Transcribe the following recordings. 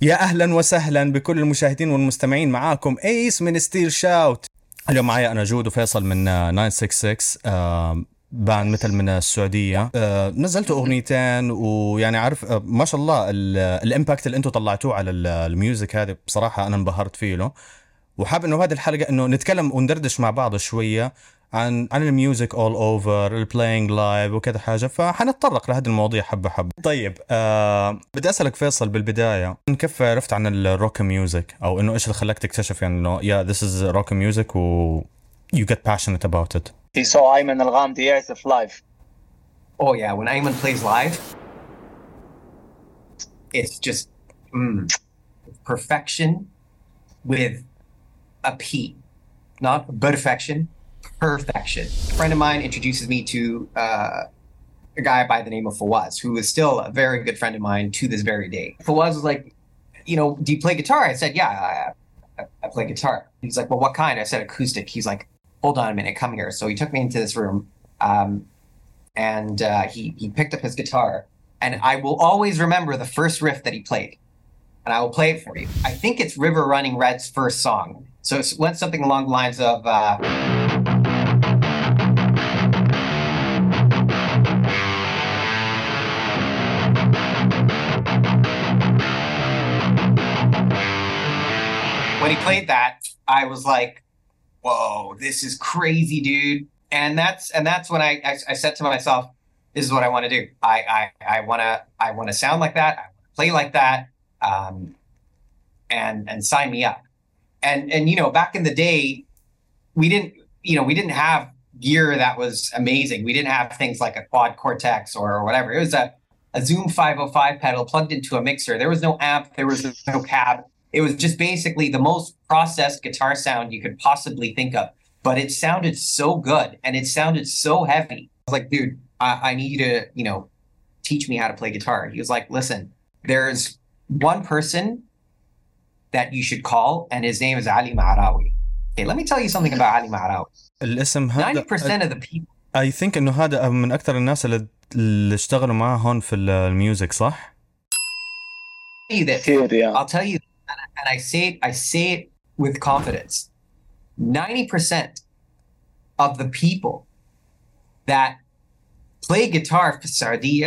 يا أهلا وسهلا بكل المشاهدين والمستمعين. معاكم ايس من ستيل شاوت. اليوم معي أنا جود وفيصل من 966 باند مثل من السعودية. نزلت أغنيتين ويعني عارف ما شاء الله الإمباكت اللي أنتم طلعتوه على الميوزك هذه بصراحة أنا انبهرت فيه له. وحاب انه هذه الحلقه انه نتكلم وندردش مع بعض شويه عن الميوزك اول اوفر البلاينج لايف وكذا حاجه، فحنتطرق لهذه المواضيع حبه حبه. طيب بدي اسالك فيصل بالبدايه، كيف عرفت عن الروك ميوزك، او انه ايش اللي خلاك تكتشف يعني انه this is rock music و you get passionate about it. He saw Ayman Al-Ghamdi يعزف live. Oh yeah, when Ayman plays live, it's just perfection with a P, not perfection, perfection. A friend of mine introduces me to a guy by the name of Fawaz, who is still a very good friend of mine to this very day. Fawaz was like, do you play guitar? I said, yeah, I play guitar. He's like, well, what kind? I said, acoustic. He's like, hold on a minute, come here. So he took me into this room, and he picked up his guitar, and I will always remember the first riff that he played. And I will play it for you. I think it's River Running Red's first song. So it went something along the lines of... When he played that, I was like, whoa, this is crazy, dude. And that's when I said to myself, this is what I want to do. I want to sound like that. I want to play like that. And sign me up. And back in the day, we didn't have gear that was amazing. We didn't have things like a quad Cortex or whatever. It was a Zoom 505 pedal plugged into a mixer. There was no amp. There was no cab. It was just basically the most processed guitar sound you could possibly think of. But it sounded so good and it sounded so heavy. I was like, dude, I need you to, teach me how to play guitar. He was like, listen, there's one person that you should call, and his name is Ali Ma'arawi. Okay, let me tell you something about Ali Ma'arawi. الاسم هذا 90% of the people. I think انه هذا من اكثر الناس اللي اشتغلوا معاه هون في الميوزك، صح؟ I'll tell you, and I say it with confidence. 90% of the people that play guitar for Saudi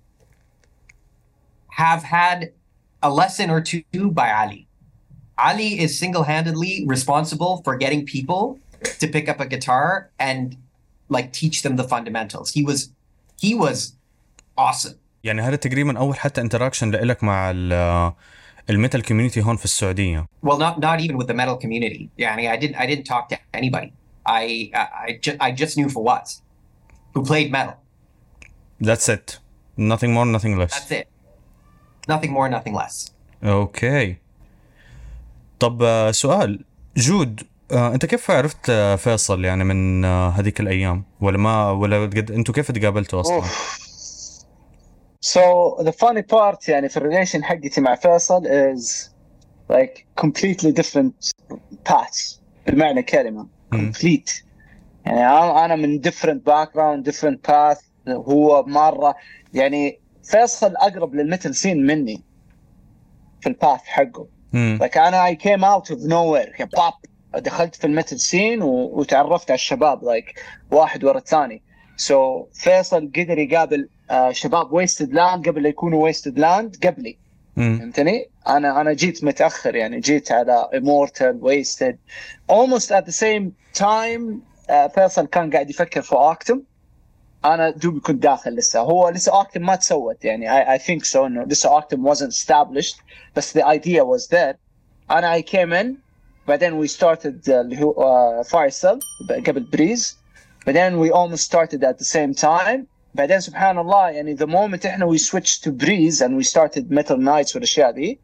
have had a lesson or two by Ali. Ali is single-handedly responsible for getting people to pick up a guitar and teach them the fundamentals. He was awesome. يعني هذا تقريبا اول حتى انتراكشن لك مع الميتال كوميونتي هون في السعودية. Well, not even with the metal community. يعني I didn't talk to anybody. I just knew Fawaz, who played metal. That's it. Nothing more, nothing less. That's it. Nothing more, nothing less. اوكي. طب سؤال جود، انت كيف عرفت فيصل يعني من هذيك الايام، ولا انتوا كيف تقابلتوا اصلا؟ So the funny part يعني في الريليشن حقتي مع فيصل is like completely different paths بالمعنى كلمة. complete. يعني أنا من different background, different path. هو مرة يعني فيصل أقرب للميتال سين مني في الباث حقه. like أنا I came out of nowhere يعني pop. دخلت في الميتال سين وتعرفت على الشباب like واحد ورا الثاني. so فيصل قدر يقابل شباب ويستد لاند قبل لا يكونوا ويستد لاند قبلي. فهمتني؟ أنا جيت متأخر يعني جيت على Immortal Wasted almost at the same time. فيصل كان قاعد يفكر في أكتم. أنا دوبي كنت داخل لسه أكتم ما تسوت يعني I think so إنه لسه أكتم wasn't established بس the idea was there. I came in بعدين we started اللي هو Firecell قبل بريز. بعدين we almost started at the same time. بعدين سبحان الله يعني the moment إحنا we switched to Breeze and we started Metal Nights والأشياء دي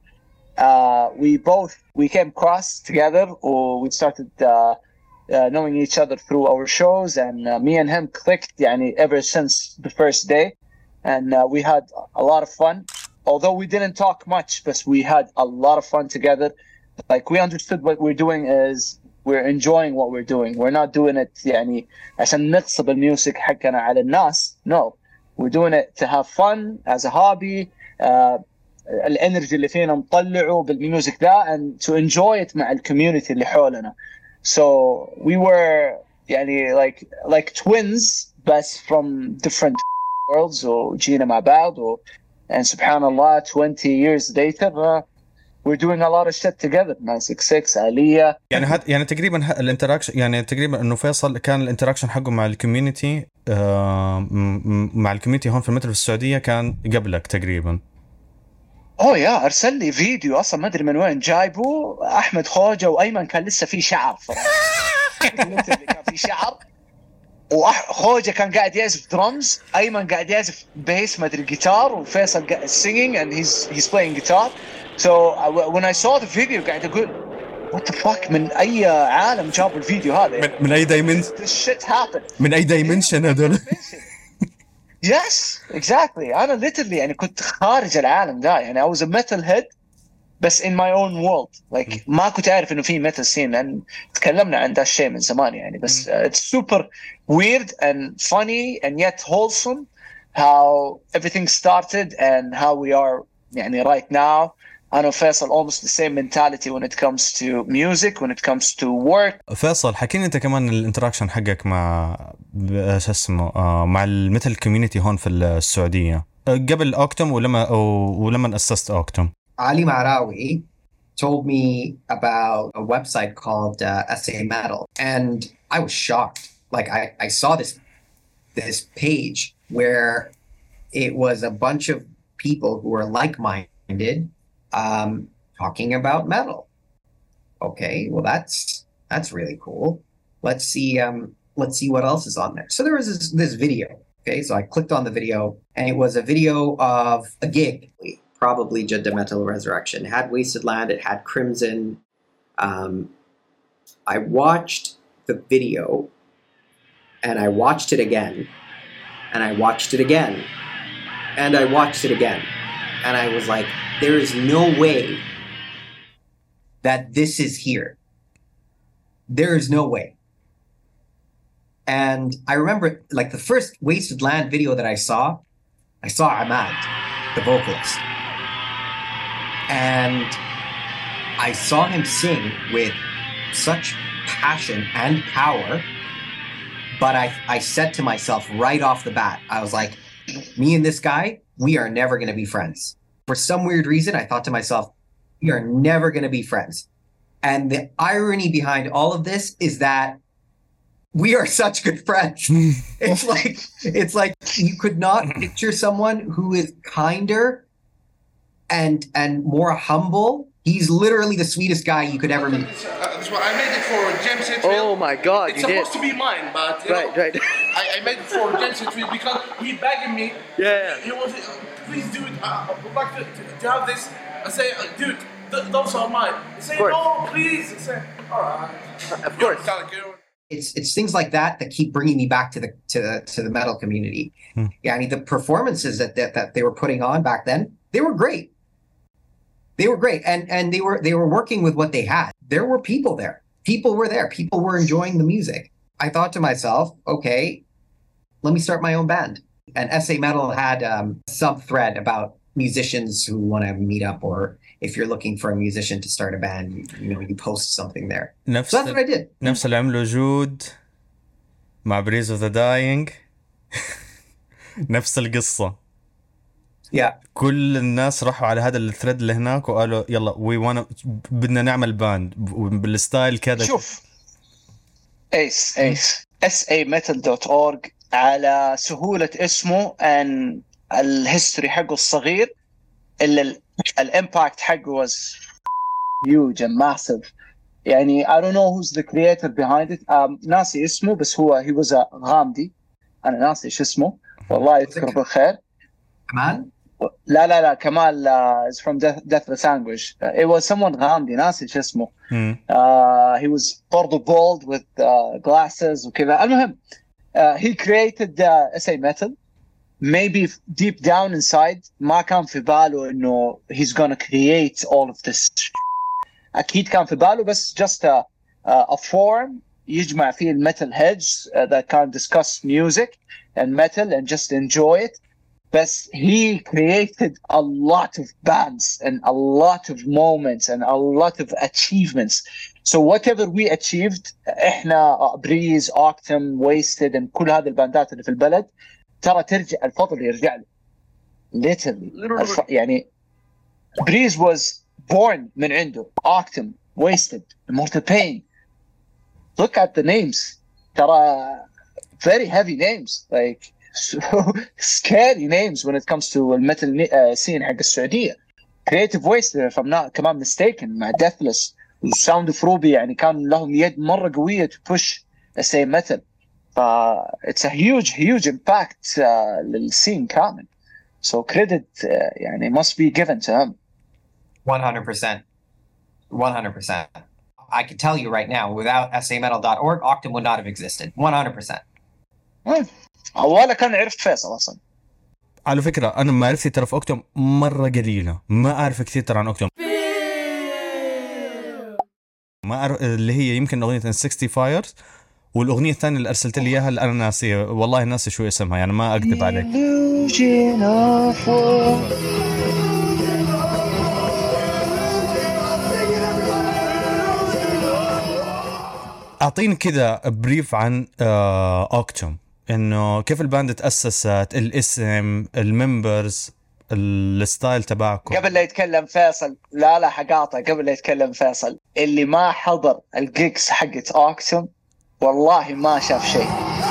we came across together or we started knowing each other through our shows and me and him clicked يعني ever since the first day and we had a lot of fun although we didn't talk much but we had a lot of fun together. like we understood what we're doing is we're enjoying what we're doing. We're not doing it يعني عشان نغصب الميوزك حقنا على الناس. No, we're doing it to have fun as a hobby. الانرجي اللي فينا نطلعه بالميوزك ده and to enjoy it مع الكوميونتي اللي حولنا. So we were يعني like twins بس from different worlds وجينا مع بعض and سبحان الله 20 years later we're doing a lot of shit together. 966 آلية يعني تقريبا الانتراكشن، يعني تقريبا انه فيصل كان الانتراكشن حقه مع الكوميونتي مع الكوميونتي هون في المترو في السعودية كان قبلك تقريبا. يا ارسل لي فيديو اصلا ما ادري من وين جايبه، احمد خوجة وايمن كان لسه في شعر كان في شعر، وخوجة كان قاعد يعزف درمز، ايمن قاعد يعزف بيس ما ادري جيتار، وفيصل singing and he's playing guitar. So when I saw the video قاعد اقول what the fuck، من اي عالم جابوا الفيديو هذا؟ من اي دايمنشن؟ This shit happened. من اي دايمنشن هذول؟ Yes, exactly. أنا literally يعني كنت خارج العالم ده، يعني I was a metal head بس in my own world. Like ما كنت أعرف إنه في metal scene، لأن تكلمنا عن ده الشيء من زمان يعني. بس it's super weird and funny and yet wholesome how everything started and how we are يعني right now. أنا وفيصل almost the same mentality when it comes to music, when it comes to work. فيصل حكيني انت كمان الانتراكشن حقك مع شو اسمه مع الميتال كوميونتي هون في السعودية قبل اوكتوم ولما اسست اوكتوم. Ali Marawi told me about a website called SA Metal, and I was shocked. Like I saw this page where it was a bunch of people who were like-minded talking about metal. Okay, well that's really cool. Let's see what else is on there. So there was this video. Okay, so I clicked on the video, and it was a video of a gig, probably Jeddah Metal Resurrection. It had Wasted Land, it had Crimson. I watched the video, and I watched it again, and I watched it again, and I watched it again, and I was like, there is no way that this is here. There is no way. And I remember, like, the first Wasted Land video that I saw Ahmad, the vocalist. And I saw him sing with such passion and power, but I said to myself right off the bat, I was like, me and this guy, we are never going to be friends. For some weird reason, I thought to myself, we are never going to be friends. And the irony behind all of this is that we are such good friends. It's like you could not picture someone who is kinder and more humble. He's literally the sweetest guy you could ever meet. That's what I made it for James Hetfield. Oh my God, it's supposed to be mine, but right. I made it for James Hetfield because he begged me. Yeah. He was, please do it. I would like to have this. I say, dude, those are mine. He say, no, please. I say, all right. Of course. It's things like that keep bringing me back to the metal community. Yeah, I mean, the performances that they were putting on back then, they were great. They were great, and they were working with what they had. There were people there. People were there. People were enjoying the music. I thought to myself, okay, let me start my own band. And SA Metal had some thread about musicians who want to meet up, or if you're looking for a musician to start a band, you post something there. So that's what I did. نفس اللي عمله جود مع Breeze of the Dying. نفس القصة. Yeah. كل الناس راحوا على هذا الثريد اللي هناك وقالوا يلا بدنا نعمل باند بالستايل كذا. شوف ايس sametal.org على سهولة اسمه and الهيستوري حقه الصغير، اللي الامباكت حقه was huge and massive. يعني I don't know who's the creator behind it. ناسي اسمه، بس هو he was a غامدي. أنا ناسي إيش اسمه، والله يذكره بالخير. كمال؟ لا كمال is from Deathless Anguish. It was someone غامدي ناسي إيش اسمه. He was برضو bald with glasses وكذا. المهم he created SA Metal. Maybe deep down inside ما كان في باله إنه he's gonna create all of this. أكيد كان في باله بس just a forum يجمع فيه الميتال heads that can discuss music and metal and just enjoy it. but he created a lot of bands and a lot of moments and a lot of achievements. So whatever we achieved, احنا بريز اوكتم ويستد and كل هذه الباندات اللي في البلد ترى ترجع الفضل يرجع له literally. يعني بريز was born من عنده اوكتم ويستد Immortal Pain. Look at the names. ترى very heavy names, like so scary names when it comes to الميتال scene حق السعودية. Creative Waste if I'm not كمان mistaken مع Deathless وساوند اوف روبي يعني كان لهم يد مرة قوية to push SA metal. It's a huge impact للسين كامل. So credit يعني must be given to him. 100%. 100%. I can tell you right now, without sametal.org, Octum would not have existed. 100%. أولا كان عرفت فيصل أصلا. على فكرة أنا معرفتي ترى في أوكتوم مرة قليلة، ما أعرف كثير ترى عن أوكتوم. ما أعرف اللي هي يمكن أغنية 60 Fires، والأغنية الثانية اللي أرسلت لي إياها اللي أنا ناسية، والله ناسي شو اسمها يعني ما أكذب عليك. أعطيني كذا بريف عن أوكتوم، إنه كيف الباند تأسست، الاسم، الممبرز، الستايل تبعكم. قبل لا يتكلم فيصل، لا حقاطع، قبل لا يتكلم فيصل، اللي ما حضر الجيكس حقت أوكتوم والله ما شاف شيء.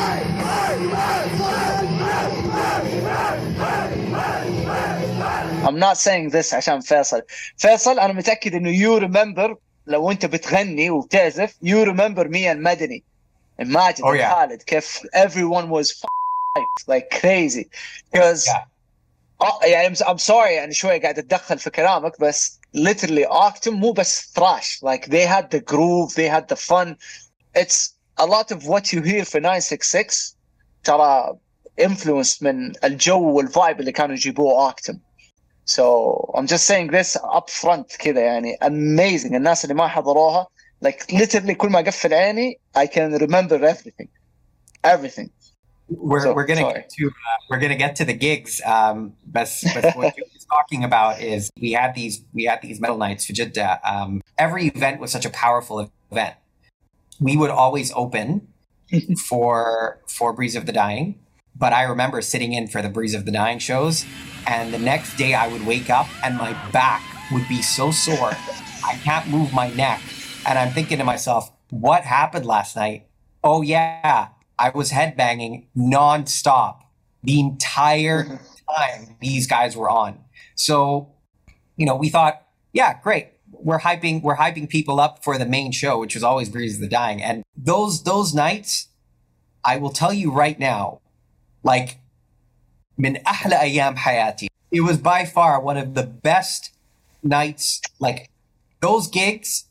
I'm not saying this عشان فيصل أنا متأكد إنه you remember لو أنت بتغني وبتعزف you remember me and Madani. Imagine خالد كيف everyone was like crazy because يعني I'm sorry يعني شوي قاعد أتدخل في كلامك بس literally Octum مو بس thrash, like they had the groove, they had the fun. It's a lot of what you hear for 966 ترى influenced من الجو والvibe اللي كانوا يجيبوه Octum. So I'm just saying this up front كذا يعني amazing. الناس اللي ما حضروها like literally كل ما أقفل عيني I can remember everything. We're gonna get to the gigs. But what you was talking about is we had these metal nights for Jeddah. Every event was such a powerful event. We would always open for Breeze of the Dying, but I remember sitting in for the Breeze of the Dying shows, and the next day I would wake up and my back would be so sore. I can't move my neck, and I'm thinking to myself, what happened last night? Oh yeah, I was headbanging non-stop the entire time these guys were on. So, you know, we thought, yeah, great. We're hyping people up for the main show, which was always Breeze of the Dying. And those nights, I will tell you right now, like من أحلى أيام حياتي. It was by far one of the best nights. Like those gigs,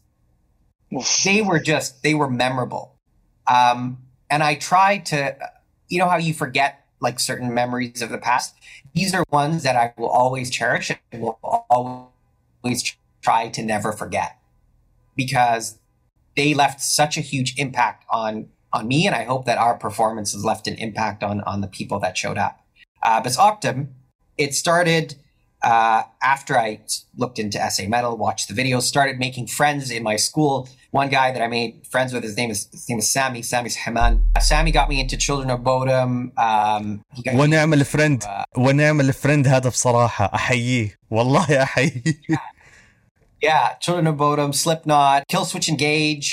they were memorable. And I tried to, you know how you forget like certain memories of the past? These are ones that I will always cherish and will always try to never forget because they left such a huge impact on me, and I hope that our performances left an impact on the people that showed up. But Octum, it started after I looked into SA Metal, watched the videos, started making friends in my school. One guy that I made friends with, his name is Sammy. Sammy's Haman. Sammy got me into Children of Bodom. ونعمل الفريند هذا بصراحة أحييه والله أحييه. Yeah, Children of Bodom, Slipknot, Killswitch Engage,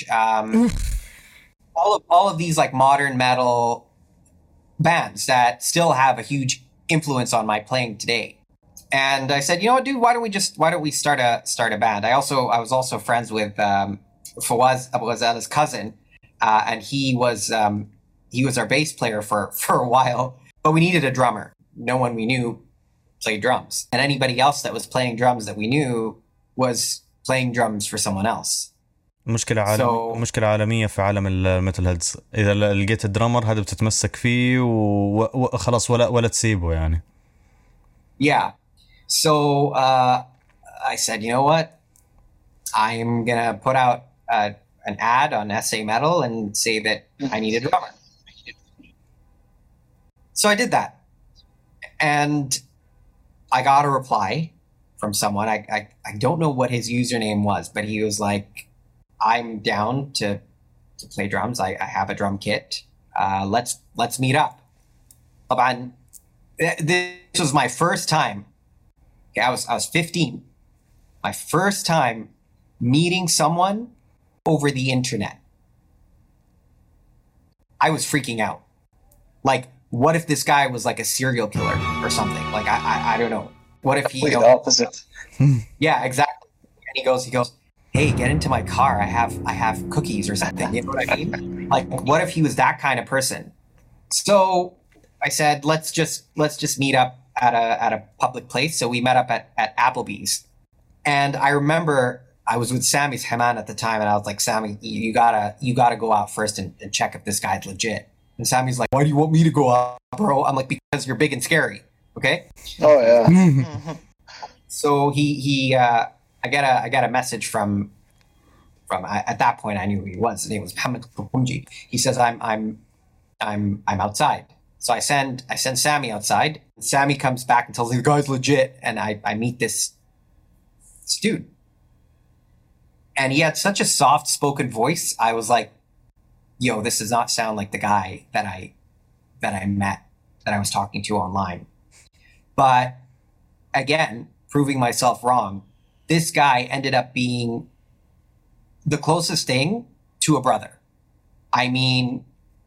all of these like modern metal bands that still have a huge influence on my playing today. And I said, you know what, dude, why don't we start a band? I was also friends with Fawaz Abu Ghazala's cousin, and he was our bass player for a while, but we needed a drummer. No one we knew played drums, and anybody else that was playing drums that we knew was playing drums for someone else. مشكلة عالمية في عالم الميتال هيدز. إذا لقيت الدرامر هذا بتتمسك فيه وخلاص ولا تسيبه يعني. Yeah. So I said, you know what? I'm gonna put out an ad on SA Metal and say that I need a drummer. So I did that, and I got a reply from someone. I don't know what his username was, but he was like, I'm down to play drums. I have a drum kit. Let's meet up. This was my first time. Okay, I was 15. My first time meeting someone over the internet. I was freaking out. Like, what if this guy was like a serial killer or something? Like, I don't know. What if he... The opposite. Yeah, exactly. And he goes, hey, get into my car. I have cookies or something. You know what I mean? Like, what if he was that kind of person? So I said, let's just meet up at a public place. So we met up at Applebee's. And I remember I was with Sammy's Haman at the time, and I was like, Sammy, you gotta go out first and check if this guy's legit. And Sammy's like, why do you want me to go out, bro? I'm like, because you're big and scary. Okay. Oh yeah. So I got a message from at that point I knew who he was. His name was Mohammed Kupunji. He says I'm outside. So I send Sammy outside. Sammy comes back and tells me the guy's legit, and I meet this dude. And he had such a soft spoken voice. I was like, yo, this does not sound like the guy that I met, that I was talking to online. But again, proving myself wrong, this guy ended up being the closest thing to a brother. I mean,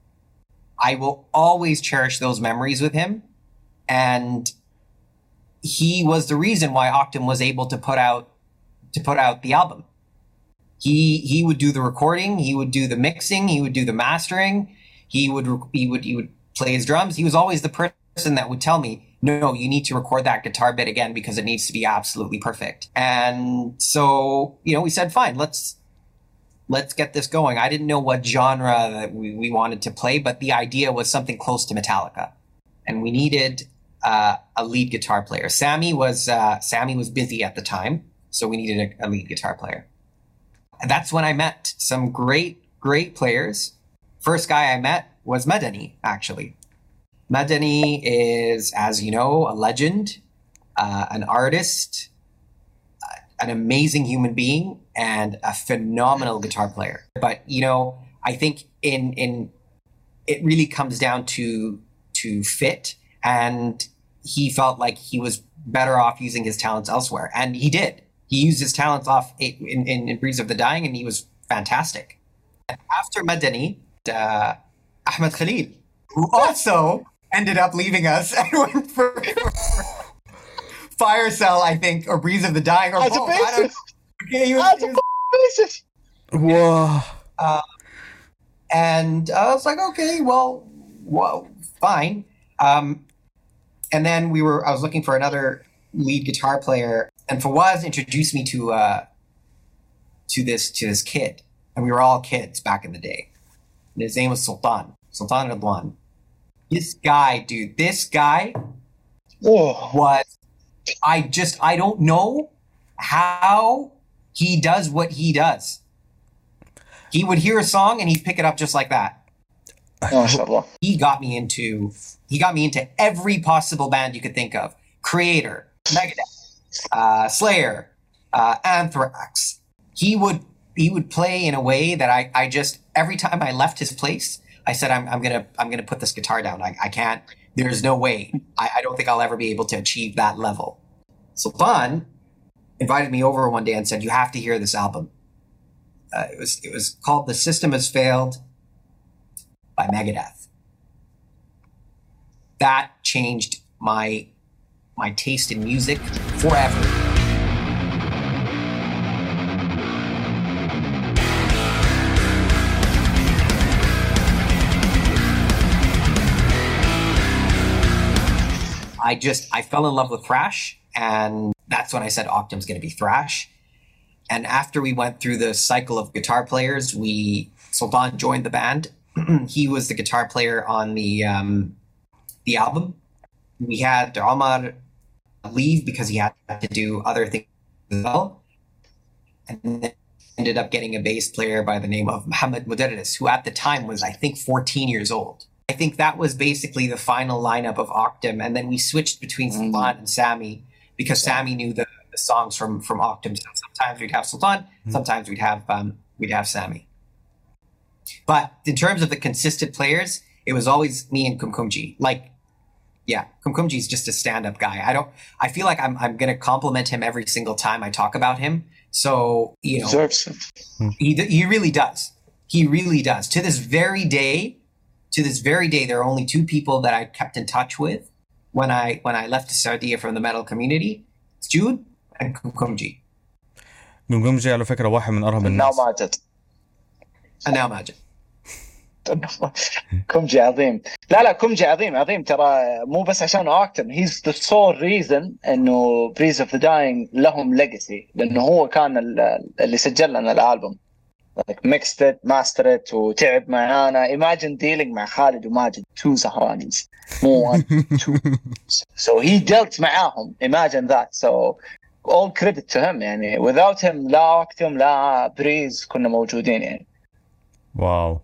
I will always cherish those memories with him. And he was the reason why Octum was able to put out the album. He would do the recording, he would do the mixing, he would do the mastering, he would play his drums. He was always the person that would tell me, no, you need to record that guitar bit again because it needs to be absolutely perfect. And so, we said, fine, let's get this going. I didn't know what genre that we wanted to play, but the idea was something close to Metallica. And we needed a lead guitar player. Sammy was busy at the time, so we needed a lead guitar player. And that's when I met some great players. First guy I met was Madani, actually. Madani is, as you know, a legend, an artist, an amazing human being, and a phenomenal guitar player. But, I think in it really comes down to fit, and he felt like he was better off using his talents elsewhere. And he did. He used his talents off in Breeze of the Dying, and he was fantastic. And after Madani, Ahmed Khalil, who also ended up leaving us and went for Fire Cell, I think, or Breeze of the Dying, or As both. a bassist. Okay, he As a bassist. Whoa. And I was like, okay, well, fine. And then I was looking for another lead guitar player, and Fawaz introduced me to this kid, and we were all kids back in the day. And his name was Sultan Radwan. This guy was, I don't know how he does what he does. He would hear a song and he'd pick it up just like that. MashaAllah. He got me into every possible band you could think of. Creator, Megadeth, Slayer, Anthrax. He would play in a way that I just, every time I left his place, I said, I'm gonna put this guitar down. I can't. There's no way. I don't think I'll ever be able to achieve that level. Sultan invited me over one day and said, you have to hear this album. It was called The System Has Failed by Megadeth. That changed my taste in music forever. I fell in love with thrash, and that's when I said Octum's going to be thrash. And after we went through the cycle of guitar players, Sultan joined the band. He was the guitar player on the album. We had Omar leave because he had to do other things as well. And then ended up getting a bass player by the name of Mohammed Mudarris, who at the time was, I think, 14 years old. I think that was basically the final lineup of Octum. And then we switched between Sultan and Sammy because Sammy knew the songs from Octum. So sometimes we'd have Sultan, sometimes we'd have Sammy. But in terms of the consistent players, it was always me and Kumkumji. Like, yeah, Kumkumji is just a stand-up guy. I feel like I'm going to compliment him every single time I talk about him. So, you know, he really does. He really does. To this very day, there are only two people that I kept in touch with when I left Saudi from the metal community. It's Jude and Kumkumji. Kumkumji على فكرة واحد من أرهب الناس. أنا ماجد. كومجي عظيم. لا كومجي عظيم ترى، مو بس عشان اوكتم. he's the sole reason انه Breeze of the Dying لهم legacy، لانه هو كان اللي سجل لنا الالبوم، like mixed it, mastered it، وتعب معانا. imagine dealing مع خالد وماجد، two سهرانيز، مو one two. so he dealt معاهم. imagine that. so all credit to him يعني. without him لا اوكتم لا Breeze كنا موجودين يعني. واو.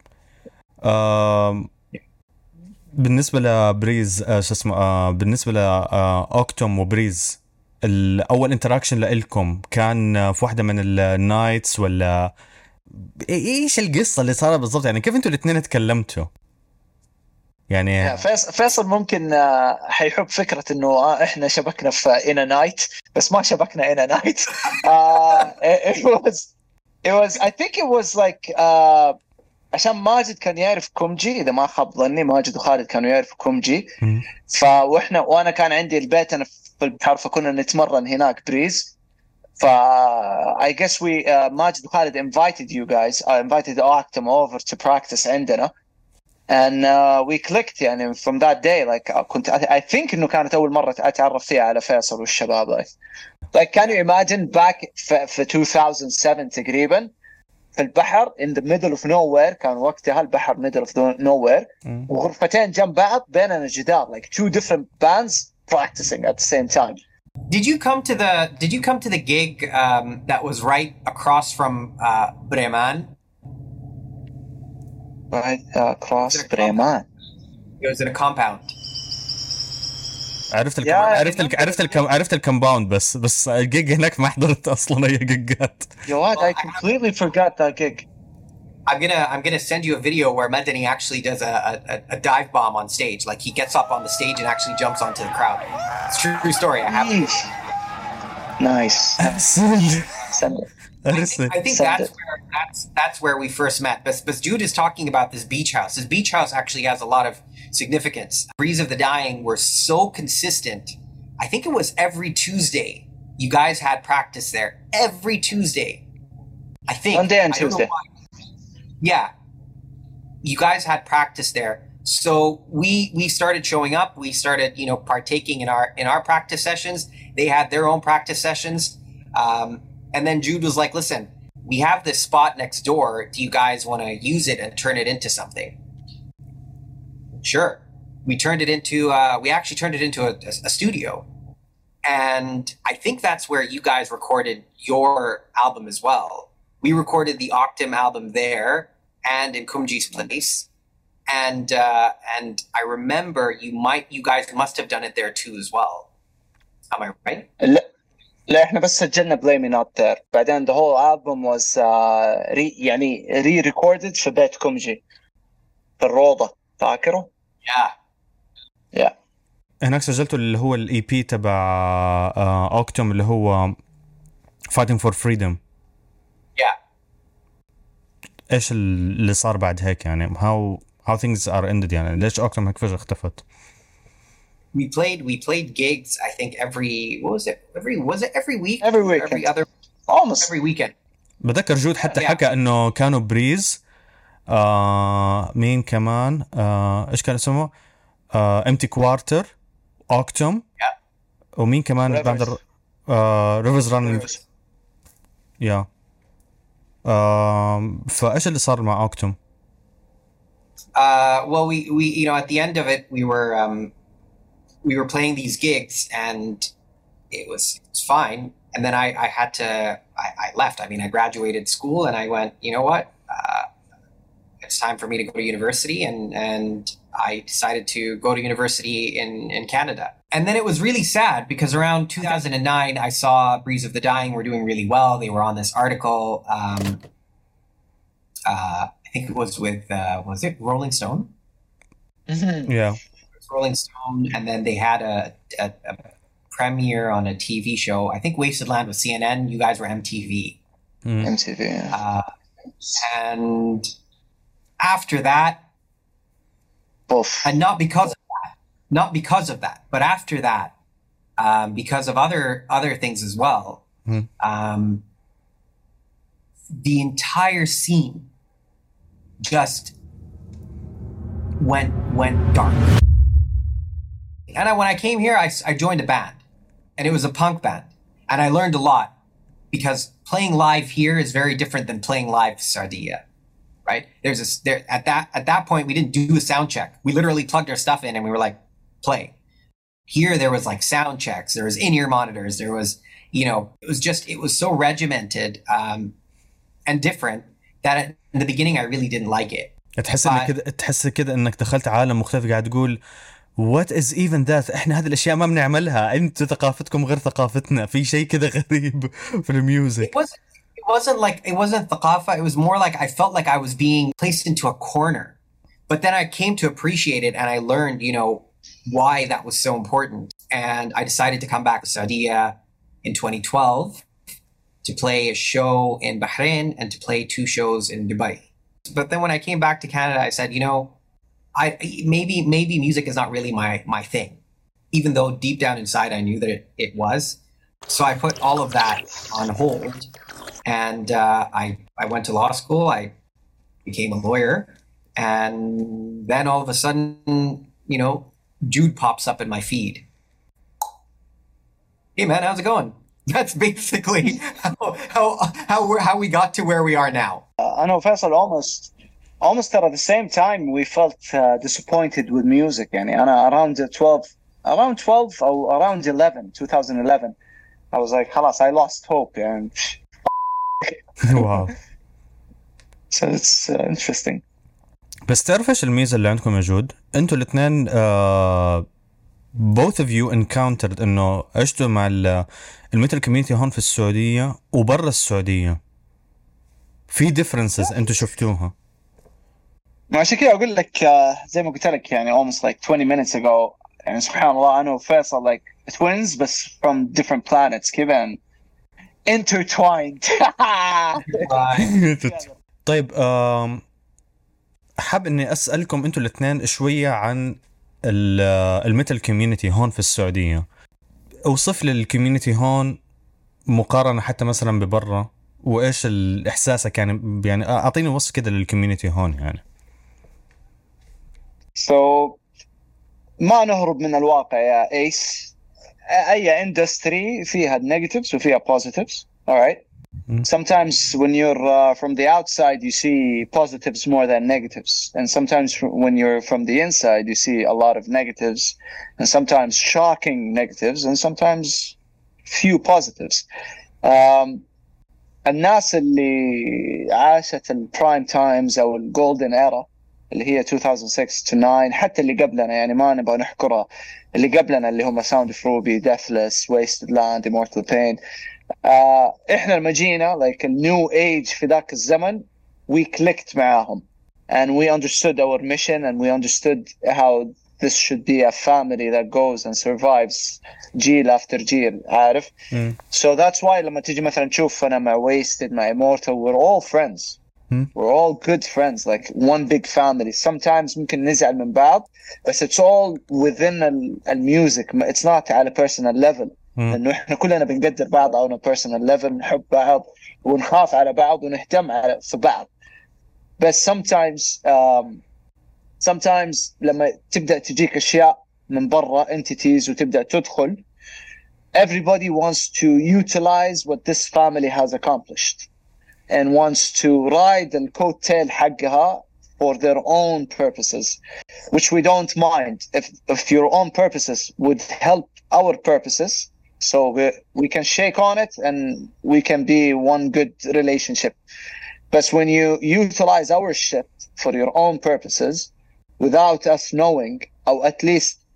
بالنسبة لبريز شو اسمه بالنسبة لأوكتوم وبريز، الأول انتراكشن لإلكم كان في واحدة من النايتس ولا إيش القصة اللي صارت بالضبط؟ يعني كيف أنتوا الاثنين تكلمتوا؟ يعني فيصل ممكن حيحب فكرة إنه إحنا شبكنا في إنا نايت، بس ما شبكنا إنا نايت. it was I think it was like عشان ماجد كان يعرف كومجي، إذا ما خاب ظني ماجد وخالد كانوا يعرفوا كومجي. وأنا كان عندي البيت أنا في البحر، فكنا نتمرن هناك بريز. I guess we ماجد وخالد invited you guys, invited Octum over to practice عندنا, and we clicked يعني from that day. like I think إنه كانت أول مرة أتعرف فيها على فيصل والشباب. like can you imagine back في 2007 تقريبا في البحر in the middle of nowhere، كان وقتها البحر middle of nowhere، وغرفتين جنب بعض بيننا جدار، like two different bands practicing at the same time. Did you come to the gig that was right across from Bremen? Right across Bremen. It was in a compound. عرفت الكمباوند بس الجيج هناك ما حضرت اصلا اي جيجات. You know what? I completely forgot that gig. I'm gonna send you a video where Madani actually does a dive bomb on stage. Like he gets up on the stage and actually jumps onto the crowd. It's a true story. I have it. Nice. Send it. I think that's where we first met. But Jude is talking about this beach house. This beach house actually has a lot of significance. Breeze of the Dying were so consistent. I think it was every Tuesday you guys had practice there. Every Tuesday. I think. One day on Tuesday. Yeah. You guys had practice there. So we started showing up. We started, partaking in our practice sessions. They had their own practice sessions. And then Jude was like, listen, we have this spot next door. Do you guys want to use it and turn it into something? Sure. We actually turned it into a studio. And I think that's where you guys recorded your album as well. We recorded the Octum album there and in Kumji's place. And I remember you guys must have done it there too as well. Am I right? لا احنا بس سجلنا Blame Me Not There. بعدين the whole album was re-recorded في بيت كومجي في الروضة، فاكره؟ Yeah. هناك سجلته اللي هو الاي بي تبع اوكتوم اللي هو Fighting for Freedom. Yeah. ايش اللي صار بعد هيك يعني؟ how things are ended يعني؟ ليش اوكتوم هيك فجأة اختفت؟ We played gigs. I think every week? Every week. Almost every weekend. بذكر جود حتى حكى انه كانوا بريز مين كمان ايش كان اسمه empty quarter اوكتوم ومين كمان بعد ريفرز ران. يا فايش اللي صار مع اوكتوم؟ Well, we at the end of it we were playing these gigs and it was fine. And then I left. I mean, I graduated school and I went, you know what? It's time for me to go to university. And I decided to go to university in Canada. And then it was really sad because around 2009, I saw Breeze of the Dying were doing really well. They were on this article. I think it was with, was it Rolling Stone? Yeah. Rolling Stone. And then they had a premiere on a TV show. I think Wasted Land was CNN. You guys were MTV. MTV, yeah. And after that, Oof. and not because of that, but after that, because of other things as well, the entire scene just went dark. And when I came here, I joined a band, and it was a punk band, and I learned a lot because playing live here is very different than playing live in Sardinia. Right? At that point, we didn't do a sound check. We literally plugged our stuff in and we were like, play. Here, there was like sound checks. There was in-ear monitors. There was, it was so regimented and different that in the beginning, I really didn't like it. تحس كده انك دخلت عالم مختلف قاعد تقول what is even that احنا هذه الاشياء ما بنعملها انتوا ثقافتكم غير ثقافتنا في شيء كده غريب في الميوزك. It wasn't thaqafa. It was more like I felt like I was being placed into a corner. But then I came to appreciate it and I learned, why that was so important. And I decided to come back to Saudi in 2012 to play a show in Bahrain and to play 2 shows in Dubai. But then when I came back to Canada, I said, maybe music is not really my thing, even though deep down inside I knew that it was. So I put all of that on hold. And I went to law school. I became a lawyer. And then all of a sudden, Jude pops up in my feed. Hey, man, how's it going? That's basically how we got to where we are now. I know, Faisal, almost at the same time, we felt disappointed with music. Around 12 or around 2011, I was like, خلاص, I lost hope. And واو. So it's interesting. بس تعرف ايش الميزة اللي عندكم يا جود؟ انتوا الاثنين both of you encountered انه عشتوا مع الميتال كوميونتي هون في السعودية وبرا السعودية. في differences انتوا شفتوها. عشان كده اقول لك زي ما قلت لك almost like 20 minutes ago سبحان الله أنا وفيصل like twins بس from different planets كذا intertwined. طيب حاب اني اسالكم انتوا الاثنين شويه عن الميتال كوميونتي هون في السعوديه. اوصف لي الكوميونتي هون مقارنه حتى مثلا ببرا وايش الاحساسك يعني اعطيني وصف كده للكوميونتي هون يعني. So ما نهرب من الواقع يا ايس. اي industry فيها negatives وفيها positives. All right. Sometimes when you're from the outside, you see positives more than negatives. And sometimes when you're from the inside, you see a lot of negatives and sometimes shocking negatives and sometimes few positives. الناس اللي عاشت البرايم تايمز أو الجولدن إيرا اللي هي 2006 to 9 حتى اللي قبلنا يعني ما نبغى نحكرها اللي قبلنا اللي هم Sound of Ruby, Deathless, Wasted Land, Immortal Pain. احنا لما جينا like a new age في ذاك الزمن we clicked معاهم and we understood our mission and we understood how this should be a family that goes and survives جيل after جيل عارف. So that's why لما تيجي مثلا تشوف أنا مع Wasted مع Immortal we're all friends. We're all good friends like one big family. Sometimes ممكن نزعل من بعض بس it's all within الميوزك. It's not على personal level. لأنه إحنا كلنا بنقدر بعض على personal level نحب بعض ونخاف على بعض ونهتم في بعض. بس sometimes لما تبدأ تجيك أشياء من برا entities وتبدأ تدخل everybody wants to utilize what this family has accomplished and wants to ride the coattail حقها for their own purposes, which we don't mind if your own purposes would help our purposes. So we can shake on it and we can be one good relationship. But when you utilize our shit for your own purposes without us knowing, or at least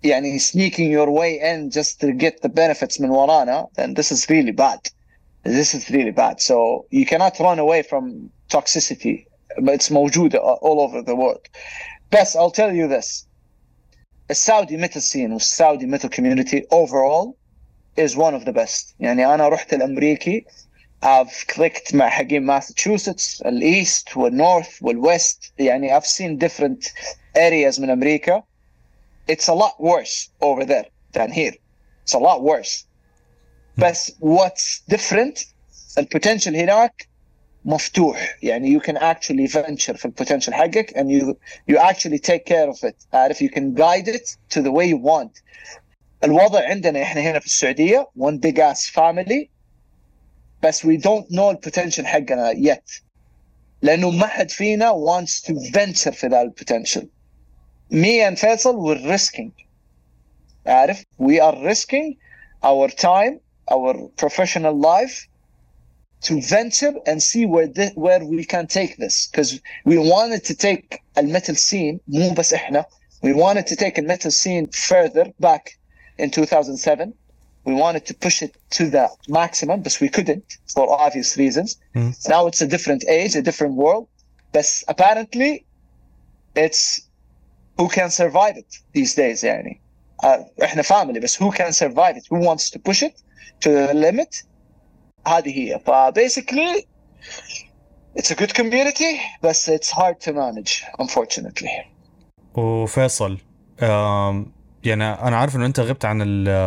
يعني sneaking your way in just to get the benefits من ورانا, then this is really bad. This is really bad. So you cannot run away from toxicity, but it's موجودة all over the world. بس I'll tell you this. The Saudi metal scene والسعودي metal community overall is one of the best. يعني أنا رحت الأمريكي, I've clicked مع حقين Massachusetts, الإيست والنورث والويست. يعني I've seen different areas من أمريكا. It's a lot worse over there than here. It's a lot worse. But what's different, البوتنشل هناك مفتوح. يعني you can actually venture في البوتنشل حقك and you actually take care of it. عارف, you can guide it to the way you want. الوضع عندنا احنا هنا في السعودية one big ass family, بس we don't know البوتنشل حقنا yet. لأنه ما حد فينا wants to venture في ذا البوتنشل. Me and Faisal, we're risking. عارف, we are risking our time, our professional life to venture and see where we can take this, because we wanted to take a metal scene, مو بس احنا, we wanted to take a metal scene further back in 2007. We wanted to push it to the maximum, but we couldn't for obvious reasons. Now it's a different age, a different world, but apparently it's who can survive it these days. يعني احنا family, بس who can survive it, who wants to push it to the limit. هذه هي. Basically it's a good community, but it's hard to manage unfortunately. وفيصل يعني انا عارف انه انت غبت عن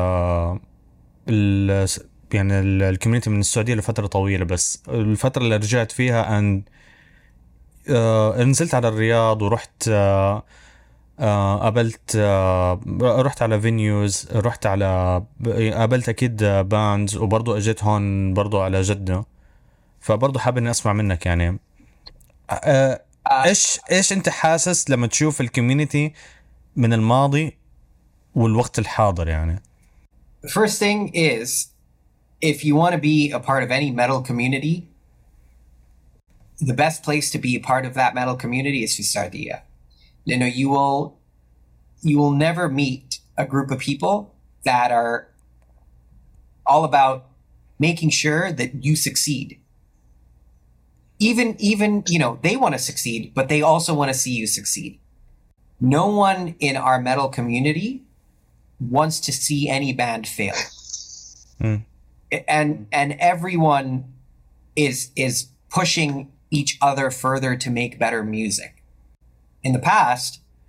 يعني الكوميونتي من السعودية لفترة طويلة, بس الفترة اللي رجعت فيها ان نزلت على الرياض ورحت قابلت رحت على فينيوز, رحت على قابلت اكيد باندز, وبرضو اجيت هون برضو على جدة. فبرضو حابب اني اسمع منك يعني ايش انت حاسس لما تشوف الكوميونتي من الماضي والوقت الحاضر يعني. The first thing is, if you want to be a part of any metal community, the best place to be a part of that metal community is Sardia. You know, you will never meet a group of people that are all about making sure that you succeed. Even, you know, they want to succeed, but they also want to see you succeed. No one in our metal community wants to see any band fail. And everyone is pushing each other further to make better music. In the past,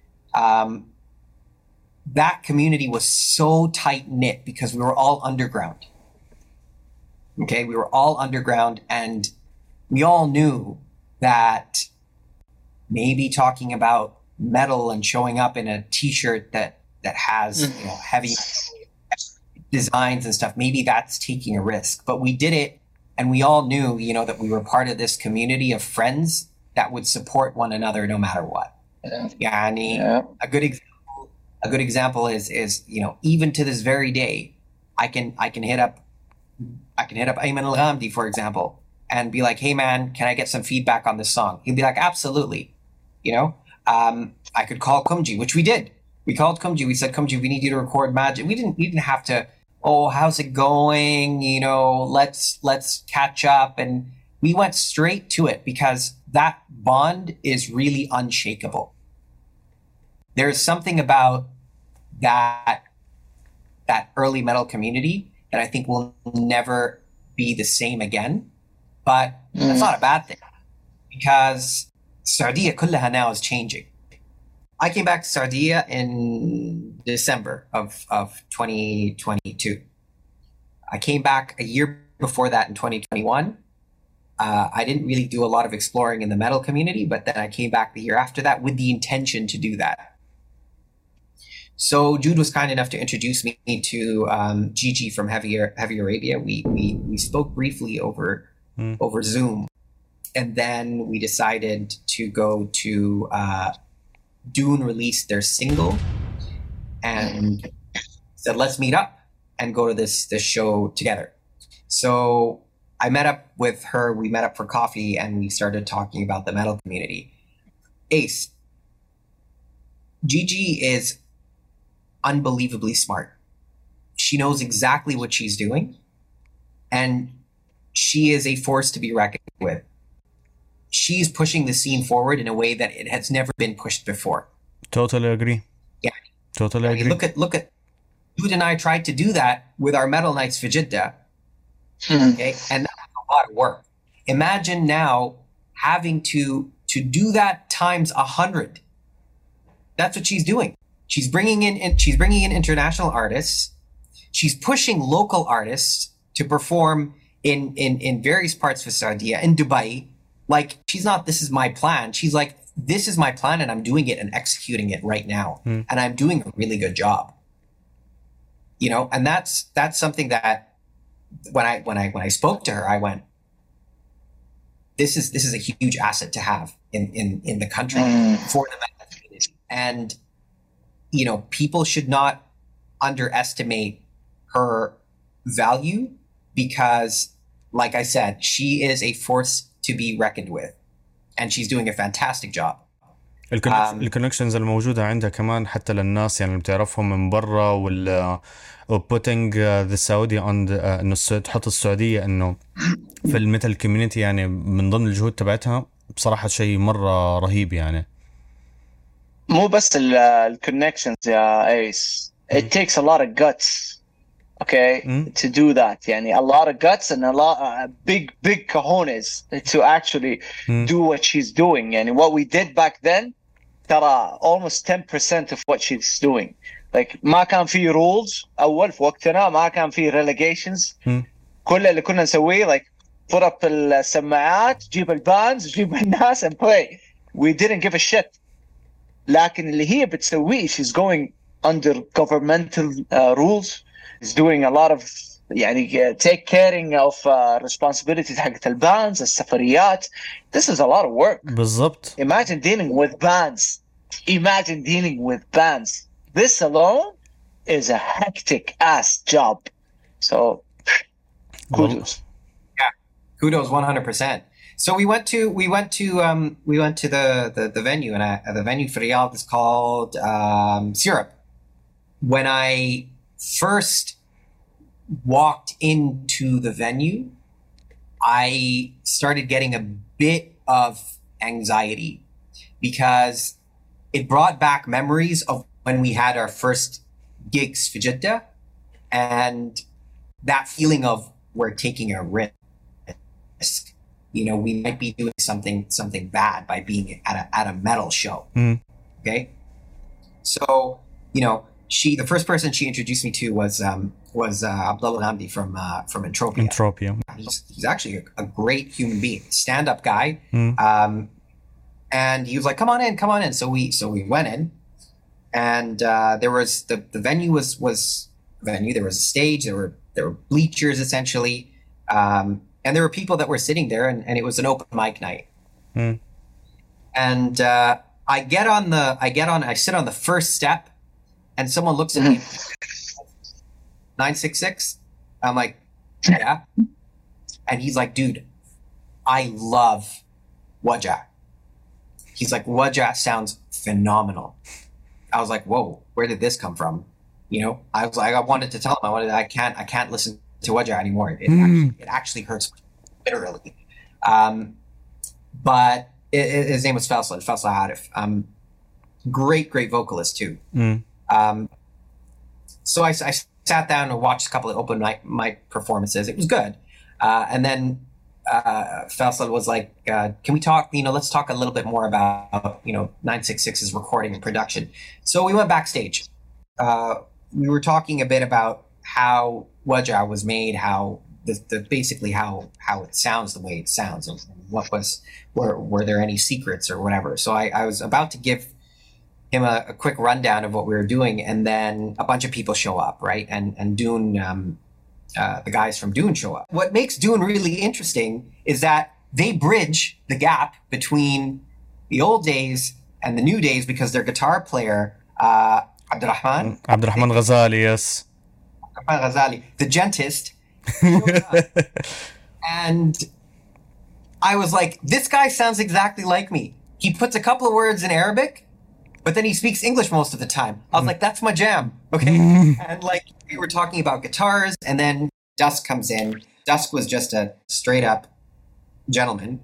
that community was so tight-knit because we were all underground. Okay, we were all underground, and we all knew that maybe talking about metal and showing up in a t-shirt that has you know, heavy designs and stuff, maybe that's taking a risk. But we did it, and we all knew, you know, that we were part of this community of friends that would support one another no matter what. Yani, a good example is you know, even to this very day, I can hit up Ayman Al-Ghamdi, for example, and be like, hey man, can I get some feedback on this song? He'd be like, absolutely. You know, I could call Kumji, which we did. We called Kumji. We said, Kumji, we need you to record Magic. We didn't have to, oh, how's it going? You know, let's catch up. And we went straight to it because that bond is really unshakable. There's something about that early metal community that I think will never be the same again. But that's not a bad thing, because Sardia kullaha now is changing. I came back to Sardia in December of 2022. I came back a year before that in 2021. I didn't really do a lot of exploring in the metal community, but then I came back the year after that with the intention to do that. So Jude was kind enough to introduce me to Gigi from Heavy Arabia. We spoke briefly over Zoom, and then we decided to go to Dune released their single, and said let's meet up and go to this show together. So I met up with her. We met up for coffee, and we started talking about the metal community. Ace, Gigi is unbelievably smart. She knows exactly what she's doing, and she is a force to be reckoned with. She's pushing the scene forward in a way that it has never been pushed before. Totally agree. Yeah. Totally I mean, agree. look at Dude and I tried to do that with our Metal Nights for Jeddah. Okay, and that was a lot of work. Imagine now having to do that times 100. That's what she's doing. She's bringing in international artists. She's pushing local artists to perform in various parts of Saudi, in Dubai. Like, she's not, this is my plan. She's like, this is my plan and I'm doing it and executing it right now. And I'm doing a really good job. You know, and that's something that when I spoke to her, I went, this is a huge asset to have in the country for the metal community. And, you know, people should not underestimate her value because, like I said, she is a force to be reckoned with. And she's doing a fantastic job. الكونكشنز الموجودة عندها كمان حتى للناس يعني اللي بتعرفهم من برا putting the Saudi on انه تحط السعودية انه في الميتال كوميونيتي يعني من ضمن الجهود تبعتها بصراحة شيء مرة رهيب يعني. مو بس الكونكشنز يا ايس. It takes a lot of guts. Okay, to do that. يعني a lot of guts and a lot big cojones to actually do what she's doing. يعني what we did back then ترى almost 10% of what she's doing. Like ما كان في rules أول في وقتنا, ما كان في relegations. كل اللي كنا نسويه like put up السماعات, جيب البانز, جيب الناس and play. We didn't give a shit. لكن اللي هي بتسويه, she's going under governmental rules. Is doing a lot of يعني take caring of responsibilities حقت البانز, السفريات. This is a lot of work. بالضبط. Imagine dealing with bands. Imagine dealing with bands. This alone is a hectic ass job. So kudos. Yeah, kudos 100%. So we went to the venue, and the venue for Riyadh is called Syrup. When I first walked into the venue, I started getting a bit of anxiety because it brought back memories of when we had our first gigs for Jeddah, and that feeling of we're taking a risk. You know, we might be doing something bad by being at a metal show. Okay, so you know. The first person she introduced me to was Abdullah Hamdi from Entropia. Entropia. He's actually a great human being, stand-up guy. And he was like, come on in. So we went in, and there was the venue was venue. There was a stage. There were bleachers essentially, and there were people that were sitting there, and it was an open mic night. And I sit on the first step. And someone looks at me, 966. I'm like, yeah. And he's like, dude, I love Wajah. He's like, Wajah sounds phenomenal. I was like, whoa, where did this come from? You know, I was like, I wanted to tell him, I can't listen to Wajah anymore. It actually hurts literally. But his name was Faisal Arif. Great vocalist too. So I sat down and watched a couple of open mic performances. It was good. And then Faisal was like, can we talk, let's talk a little bit more about, 966's recording and production. So we went backstage. We were talking a bit about how Wajah was made, how basically how it sounds the way it sounds, and were there any secrets or whatever. So I was about to give him a quick rundown of what we were doing, and then a bunch of people show up, right? And Dune, the guys from Dune show up. What makes Dune really interesting is that they bridge the gap between the old days and the new days because their guitar player, Abdurrahman Ghazali, yes. Abdurrahman Ghazali, the gentist, and I was like, this guy sounds exactly like me. He puts a couple of words in Arabic, but then he speaks English most of the time. I was like, that's my jam. Okay. And like, we were talking about guitars, and then Dusk comes in. Dusk was just a straight up gentleman.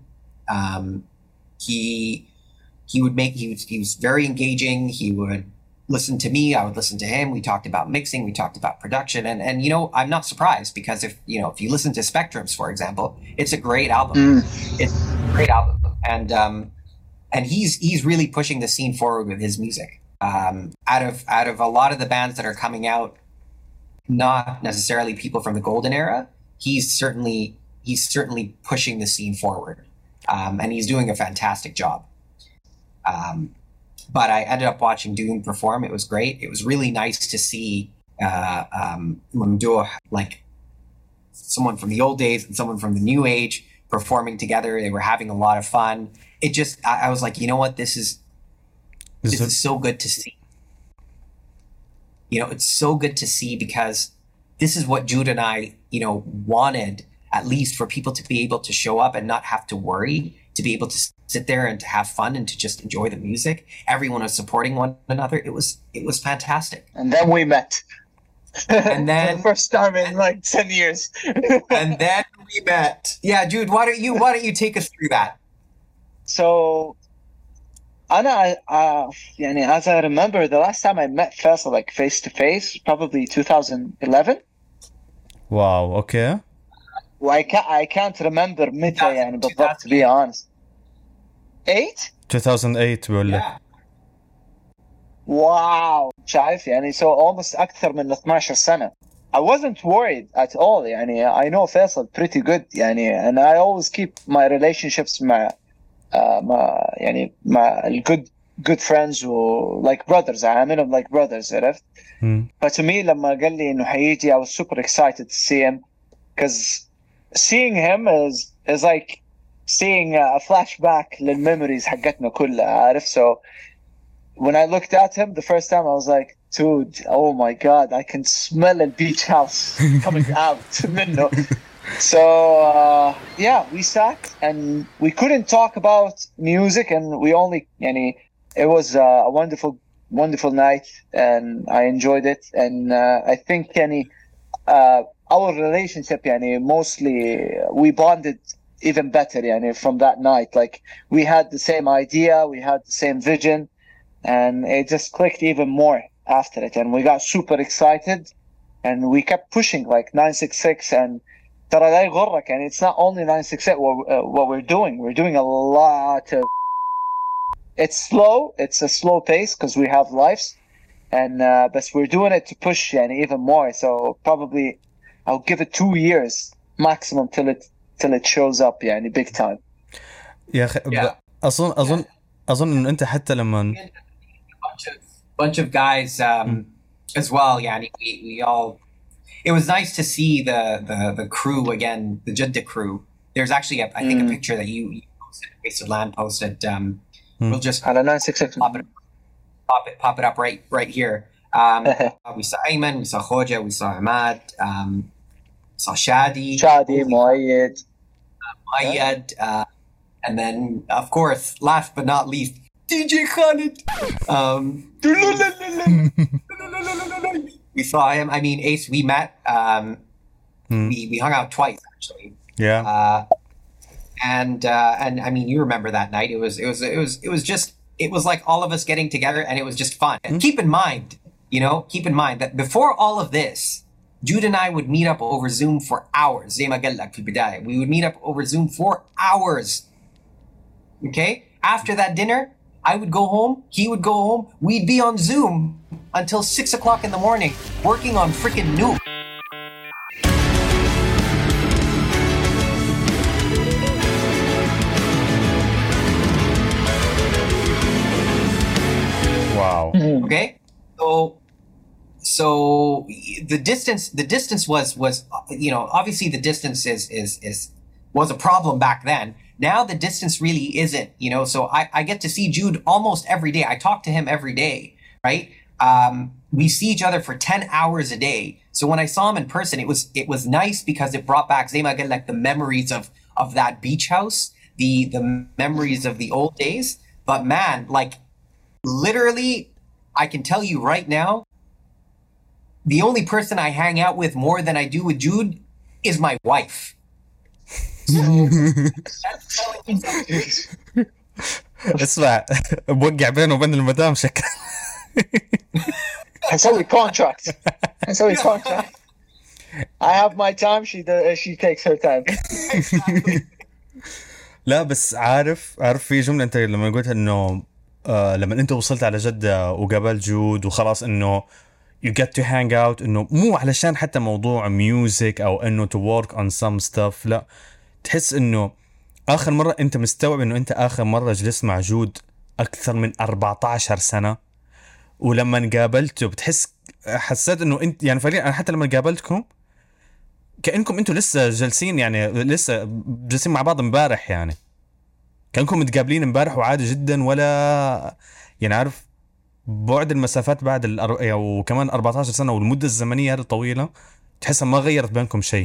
He was very engaging. He would listen to me. I would listen to him. We talked about mixing. We talked about production. And you know, I'm not surprised, because if you listen to Spectrums, for example, it's a great album. It's a great album. And he's really pushing the scene forward with his music. Out of a lot of the bands that are coming out, not necessarily people from the golden era, he's certainly pushing the scene forward. And he's doing a fantastic job. But I ended up watching Doom perform. It was great. It was really nice to see Mamdouh, like someone from the old days and someone from the new age, performing together. They were having a lot of fun. It just, I was like, you know what? This is so good to see. You know, it's so good to see, because this is what Jude and I, wanted, at least, for people to be able to show up and not have to worry, to be able to sit there and to have fun and to just enjoy the music. Everyone was supporting one another. It was fantastic. And then we met. And then for the first time in like 10 years. And then we met. Yeah, Jude, why don't you take us through that? So, as I remember, the last time I met Faisal like face to face, probably 2011. Wow. Okay. Well, I can't remember متى يعني بالضبط, to be honest. 2008 بقول لك. واو, شايف يعني, so almost أكثر من 12 سنة. I wasn't worried at all يعني. I know Faisal pretty good يعني, and I always keep my relationships مع good friends who like brothers. I mean, like brothers, عرفت? But to me لما قال لي إنه حيجي, I was super excited to see him, because seeing him is like seeing a flashback للmemories حقتنا كلها, عارف? So when I looked at him the first time, I was like, dude, oh my God, I can smell a beach house coming out منه. So we sat and we couldn't talk about music, and we only, it was a wonderful night, and I enjoyed it. And I think our relationship mostly we bonded even better from that night. Like, we had the same idea, we had the same vision, and it just clicked even more after it, and we got super excited, and we kept pushing like 966. And ترى لا يغرك, and it's not only 968 what we're doing a lot of, it's a slow pace because we have lives, and but we're doing it to push even more. So probably I'll give it 2 years maximum till it shows up big time. يا أخي, أظن إنه أنت حتى لما bunch of guys as well. We all. It was nice to see the crew again, the Jeddah crew. There's actually I think a picture that you posted, Wasted Land posted. We'll just على 966 pop it up right here. We saw Ayman, we saw Khoja, we saw Ahmad, saw Shadi, Muayyad, and then of course, last but not least, DJ Khaled. We saw him. I mean, Ace, we met. We hung out twice actually. Yeah. And I mean, you remember that night? It was like all of us getting together, and it was just fun. And keep in mind that before all of this, Jude and I would meet up over Zoom for hours. زي ما قال لك في البداية. We would meet up over Zoom for hours. Okay? After that dinner, I would go home, he would go home, we'd be on Zoom until 6 o'clock in the morning, working on freaking Nuke. Wow. Okay? So the distance was obviously the distance was a problem back then. Now the distance really isn't, so I get to see Jude almost every day. I talk to him every day, right? We see each other for 10 hours a day. So when I saw him in person, it was nice because it brought back like the memories of that beach house, the memories of the old days. But man, like literally, I can tell you right now, the only person I hang out with more than I do with Jude is my wife. That's telling you something. اسمع بوقع بينه وبين المدام شكل. حنسوي contract. حنسوي contract. I have my time, she takes her time. لا بس عارف في جملة انت لما قلت انه لما انت وصلت على جدة وقابلت جود وخلاص انه you get to hang out, انه مو علشان حتى موضوع music او انه to work on some stuff, لا تحس انه اخر مرة انت مستوعب انه انت اخر مرة جلست مع جود اكثر من 14 سنة, ولما قابلته بتحس حسيت انه انت يعني فعليا انا حتى لما قابلتكم كأنكم انتوا لسه جالسين, يعني لسه جالسين مع بعض امبارح, يعني كأنكم متقابلين امبارح وعادي جدا, ولا يعني عارف بعد المسافات بعد وكمان 14 سنة والمدة الزمنية هذه الطويلة تحسها ما غيرت بينكم شيء.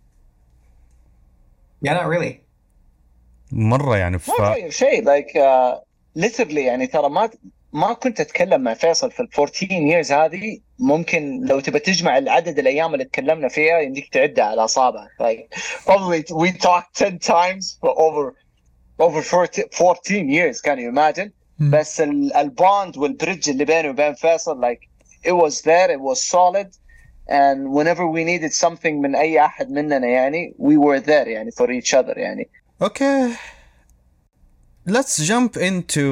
Yeah, not really. مرة يعني ما غير شيء like literally يعني ترى ما كنت أتكلم مع فيصل في 14 years هذه. ممكن لو تبى تجمع العدد الأيام اللي تكلمنا فيها يمديك تعدها على أصابعك. Like probably we talked 10 times for over 14 years. Can you imagine? بس البوند والبريدج اللي بيني وبين فيصل like it was there, it was solid, and whenever we needed something من أي أحد مننا يعني we were there يعني for each other يعني. Okay. Let's jump into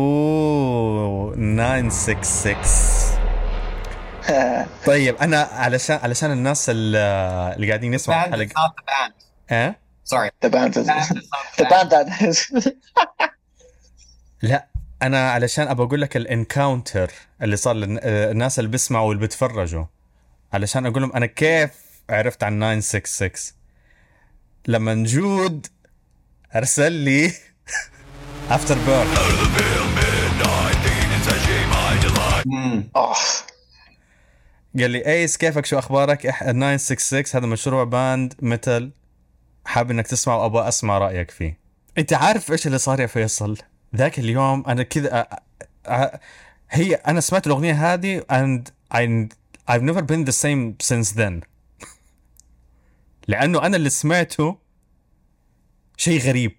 966. طيب أنا علشان الناس اللي قاعدين يسمعوا Band is not the band. إيه؟ Sorry. The band is the band that is. لا أنا علشان أبغى أقول لك الانكاونتر اللي صار للناس اللي بيسمعوا واللي بيتفرجوا, علشان أقول لهم أنا كيف عرفت عن 966 لما جود أرسل لي After Burn. قال لي ايس كيفك شو اخبارك 966 هذا مشروع باند ميتال حاب انك تسمع وابغى اسمع رايك فيه. انت عارف ايش اللي صار يا فيصل ذاك اليوم؟ انا كذا هي انا سمعت الاغنيه هذه and I've never been the same since then. لانه انا اللي سمعته شيء غريب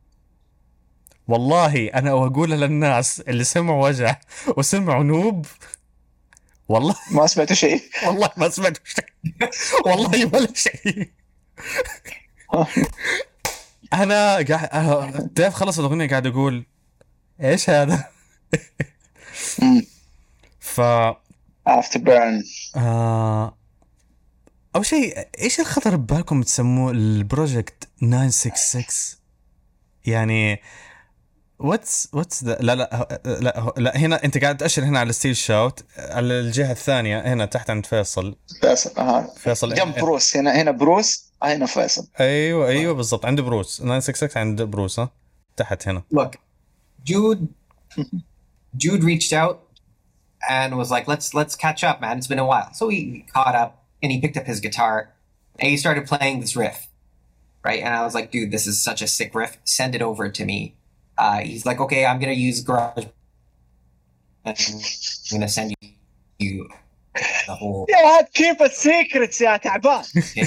والله. انا اقول للناس اللي سمعوا وجع وسمعوا نوب والله ما سمعت شيء. والله ما سمعت شيء والله ولا شيء. انا قاعد تعرف خلص الاغنيه قاعد اقول ايش هذا. ف After Burn. أول شيء إيش الخطر ببالكم تسموه البروجكت 966 يعني what's the لا هنا أنت قاعد تأشر هنا على ستيل شاوت, على الجهة الثانية هنا تحت عند فيصل. فيصل جنب بروس, هنا بروس, هنا فيصل. أيوة بالضبط عند بروس. 966 عند بروس تحت هنا. Look, Jude reached out and was like, let's catch up, man. It's been a while. So we caught up and he picked up his guitar and he started playing this riff, right? And I was like, dude, this is such a sick riff. Send it over to me. He's like, okay, I'm going to use Garage. I'm going to send you the whole... Yeah, keep a secret يا تعبان.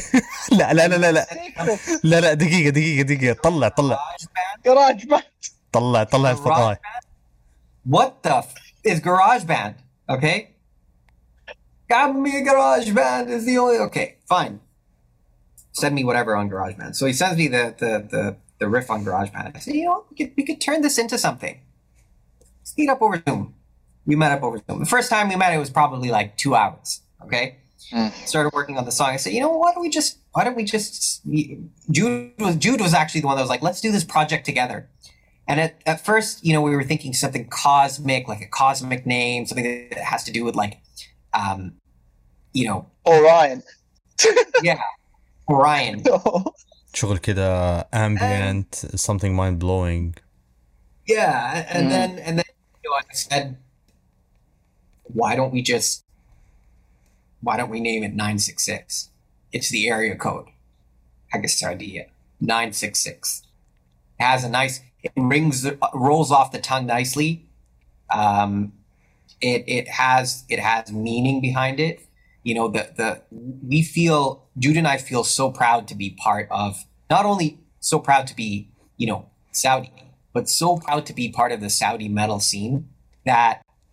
لا دقيقة طلع Garage Band. طلع الفضاي. What the is GarageBand? Okay, got me a GarageBand is the only. Okay, fine. Send me whatever on GarageBand. So he sends me the riff on GarageBand. I said, you know, we could turn this into something. Let's meet up over Zoom. We met up over Zoom. The first time we met, it was probably like 2 hours. Okay, started working on the song. I said, you know, why don't we just? Jude was actually the one that was like, let's do this project together. And at first, you know, we were thinking something cosmic, like a cosmic name, something that has to do with like, you know, Orion. Yeah, Orion. شغل كده ambient, something mind blowing. Yeah, and then you know, I said, why don't we name it 966? It's the area code. حق idea 966. It has a nice. It rolls off the tongue nicely, It has meaning behind it. You know, Jude and I feel so proud to be part of, not only so proud to be, you know, Saudi, but so proud to be part of the Saudi metal scene that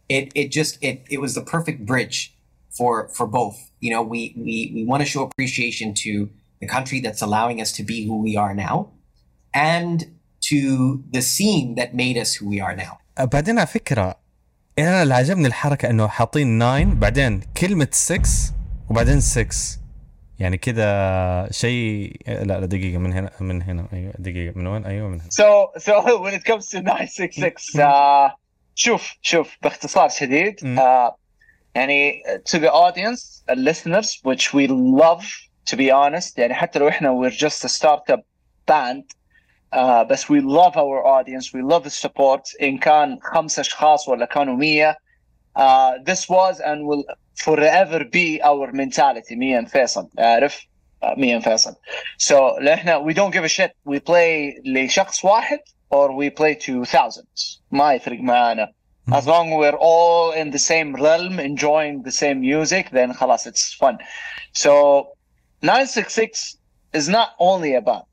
it was the perfect bridge for both. You know, we want to show appreciation to the country that's allowing us to be who we are now, and to the scene that made us who we are now. بعدين على فكرة أنا اللي عجبني الحركة إنه حاطين 9 بعدين كلمة 6 وبعدين 6 يعني كده شيء. لا دقيقة من هنا أيوة دقيقة من وين أيوة من هنا. So when it comes to 966 شوف باختصار شديد يعني to the audience and listeners which we love to be honest يعني حتى لو إحنا we're just a startup band بس we love our audience, we love the support. إن كان 5 أشخاص ولا كانوا 100 this was and will forever be our mentality. me and فيصل عارف me and فيصل. So إحنا we don't give a shit. We play لشخص واحد or we play to thousands. ما يفرق معنا. As long as we're all in the same realm enjoying the same music then خلاص it's fun. So 966 is not only a band.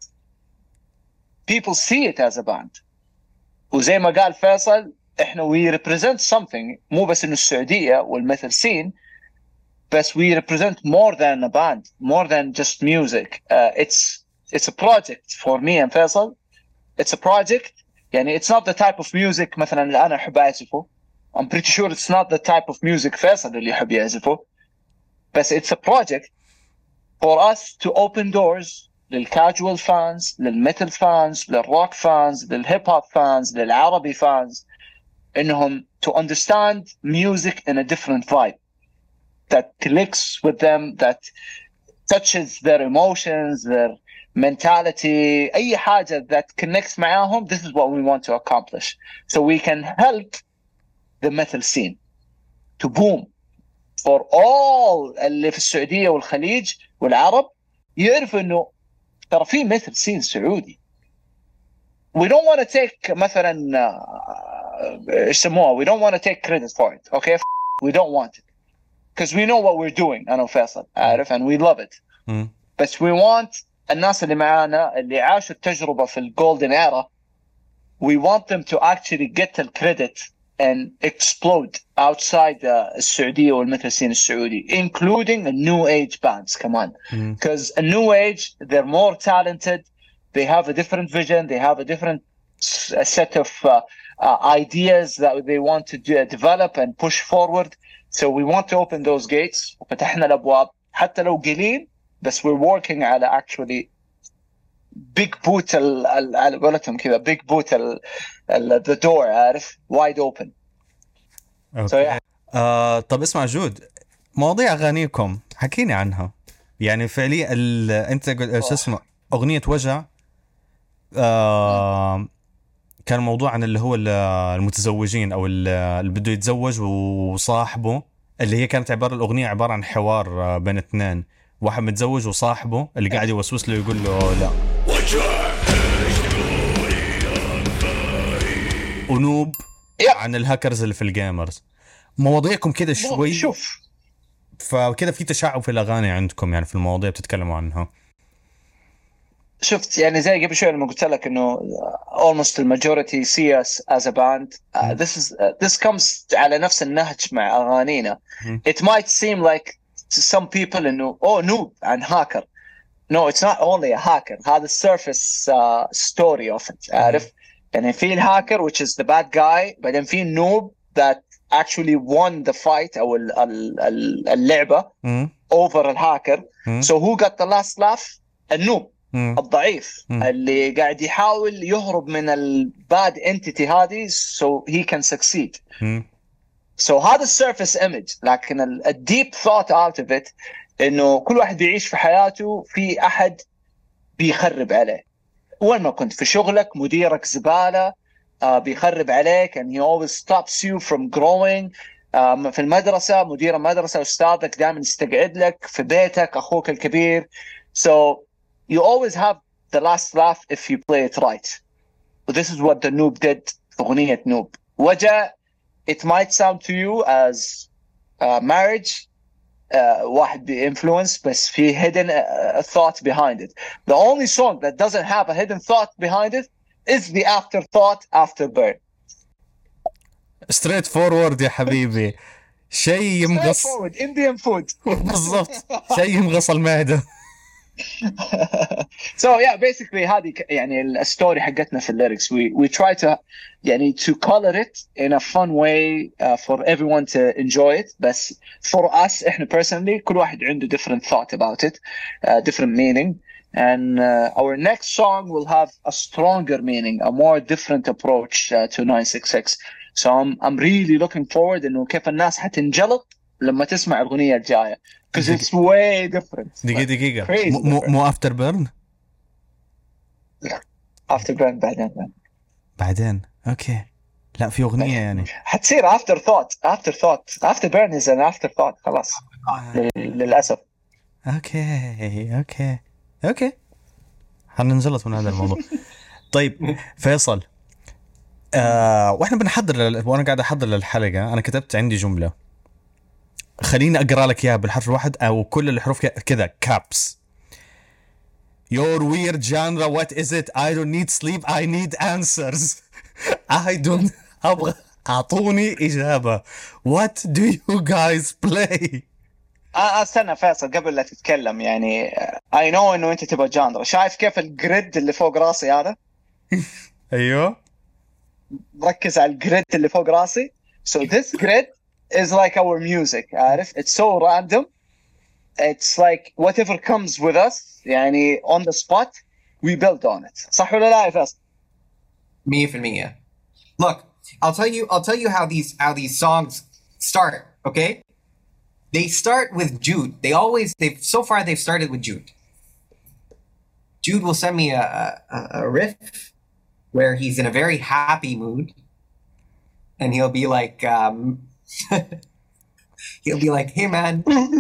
People see it as a band. وزي ما قال فيصل احنا we represent something مو بس انه السعودية والمثل scene بس we represent more than a band, more than just music. It's a project for me and فيصل. It's a project يعني it's not the type of music مثلا اللي انا احب اعزفه. I'm pretty sure it's not the type of music فيصل اللي يحب يعزفه. بس it's a project for us to open doors للكاجوال فانز, للميتال فانز, للروك فانز, للهيب هوب فانز, للعربي فانز, انهم to understand music in a different vibe that clicks with them, that touches their emotions, their mentality, اي حاجة that connects معاهم. This is what we want to accomplish so we can help the metal scene to boom for all اللي في السعودية والخليج والعرب يعرفوا انه ترى في مثل سين سعودي. We don't want to take مثلا يسموها we don't want to take credit for it. Okay, we don't want it because we know what we're doing. أنا وفيصل عارف and we love it. But we want الناس اللي معانا اللي عاشوا التجربة في الجولدن era, we want them to actually get the credit and explode outside السعودية والمثل سين السعودي, including the new age bands كمان. Because a new age, they're more talented, they have a different vision, they have a different set of ideas that they want to develop and push forward. So we want to open those gates. وفتحنا الأبواب حتى لو قليل بس we're working على actually big boot على قولتهم كذا big boot the door عارف wide open. Okay. So yeah. طب اسمع جود, مواضيع أغانيكم حكيني عنها يعني فعليا أنت شو اسمه أغنية وجع كان موضوع عن اللي هو المتزوجين أو اللي بده يتزوج وصاحبه, اللي هي كانت الأغنية عبارة عن حوار بين اثنين, واحد متزوج وصاحبه اللي قاعد يوسوس له يقول له لا, ونوب عن الهاكرز اللي في الجيمرز. مواضيعكم كده شوي شوف فكده في تشعب في الأغاني عندكم يعني في المواضيع بتتكلموا عنها. شفت يعني زي قبل شوي لما قلت لك انه almost the majority see us as a band. This comes على نفس النهج مع أغانينا. It might seem like to some people انه noob and hacker. No, it's not only a hacker. هذا surface story of it. عارف يعني في الهاكر which is the bad guy, بعدين في noob that actually won the fight أو اللعبة over الهاكر. So who got the last laugh? النوب الضعيف اللي قاعد يحاول يهرب من الباد entity هذه so he can succeed. So هذا surface image, لكن deep thought out of it إنه كل واحد بيعيش في حياته في أحد بيخرب عليه. وين ما كنت في شغلك مديرك زبالة بيخرب عليك and he always stops you from growing. في المدرسة مدير المدرسة أستاذك دائما يستقعد لك, في بيتك أخوك الكبير. So you always have the last laugh if you play it right. This is what the Noob did في أغنية نوب. وجع it might sound to you as marriage واحد influence بس في hidden thought behind it. The only song that doesn't have a hidden thought behind it is the afterthought after burn. straight forward يا حبيبي. شيء يمغص. Straightforward Indian food. بالضبط شيء يمغص المعدة. So yeah, basically هذه يعني الستوري حقتنا في الليركس. We try to يعني to color it in a fun way for everyone to enjoy it. بس for us إحنا personally كل واحد عنده different thought about it, different meaning. And our next song will have a stronger meaning, a more different approach to 966. So I'm really looking forward إنه كيف الناس حتنجلط لما تسمع الأغنية الجاية. Because it's way different. دقيقة Crazy After Burn. After Burn بعدين اوكي. لا في اغنيه يعني حتصير after burn is an afterthought خلاص للاسف. اوكي حننزلط من هذا الموضوع. طيب فيصل، واحنا وانا قاعد احضر للحلقه انا كتبت عندي جمله، خليني اقرا لك اياها بالحرف الواحد او كل الحروف كذا كابس. Your weird genre, what is it? I don't need sleep, I need answers. I don't أبغى أعطوني إجابة. What do you guys play? استنى فيصل قبل لا تتكلم يعني I know إنه أنت تبغى جانرا. شايف كيف الجريد اللي فوق راسي هذا؟ أيوه. ركز على الجريد اللي فوق راسي. So this grid is like our music. عارف؟ It's so random. It's like whatever comes with us. يعني on the spot we build on it. صح ولا لا يا فيصل؟ 100%. Look, I'll tell you how these songs start, okay? They start with Jude. They've started with Jude. Jude will send me a riff where he's in a very happy mood, and he'll be like hey man,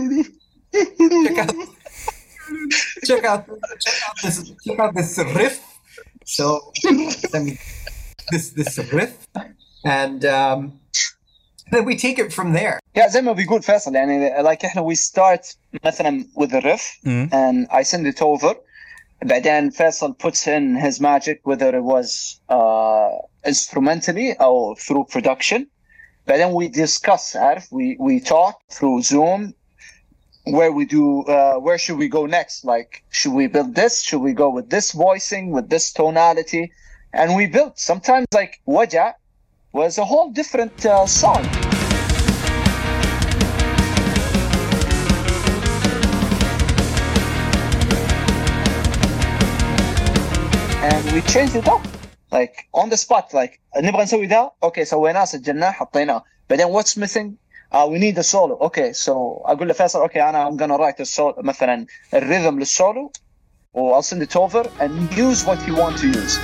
check out this riff. So send me this riff, and then we take it from there. Yeah, زي ما بيقول فيصل يعني like احنا we start مثلا with the riff and I send it over. بعدين فيصل puts in his magic whether it was instrumentally or through production. بعدين we discuss, عارف, we talk through Zoom where should we go next, like should we build this, should we go with this voicing, with this tonality, and we built. Sometimes like Waja was a whole different song. And we changed it up like on the spot, like نبغى نسوي ده, okay سويناه سجلناه حطيناه. But then what's missing? We need a solo. Okay, so أقول لفيصل okay I'm gonna write a solo مثلا الرhythm للسولو, or I'll send it over and use what you want to use.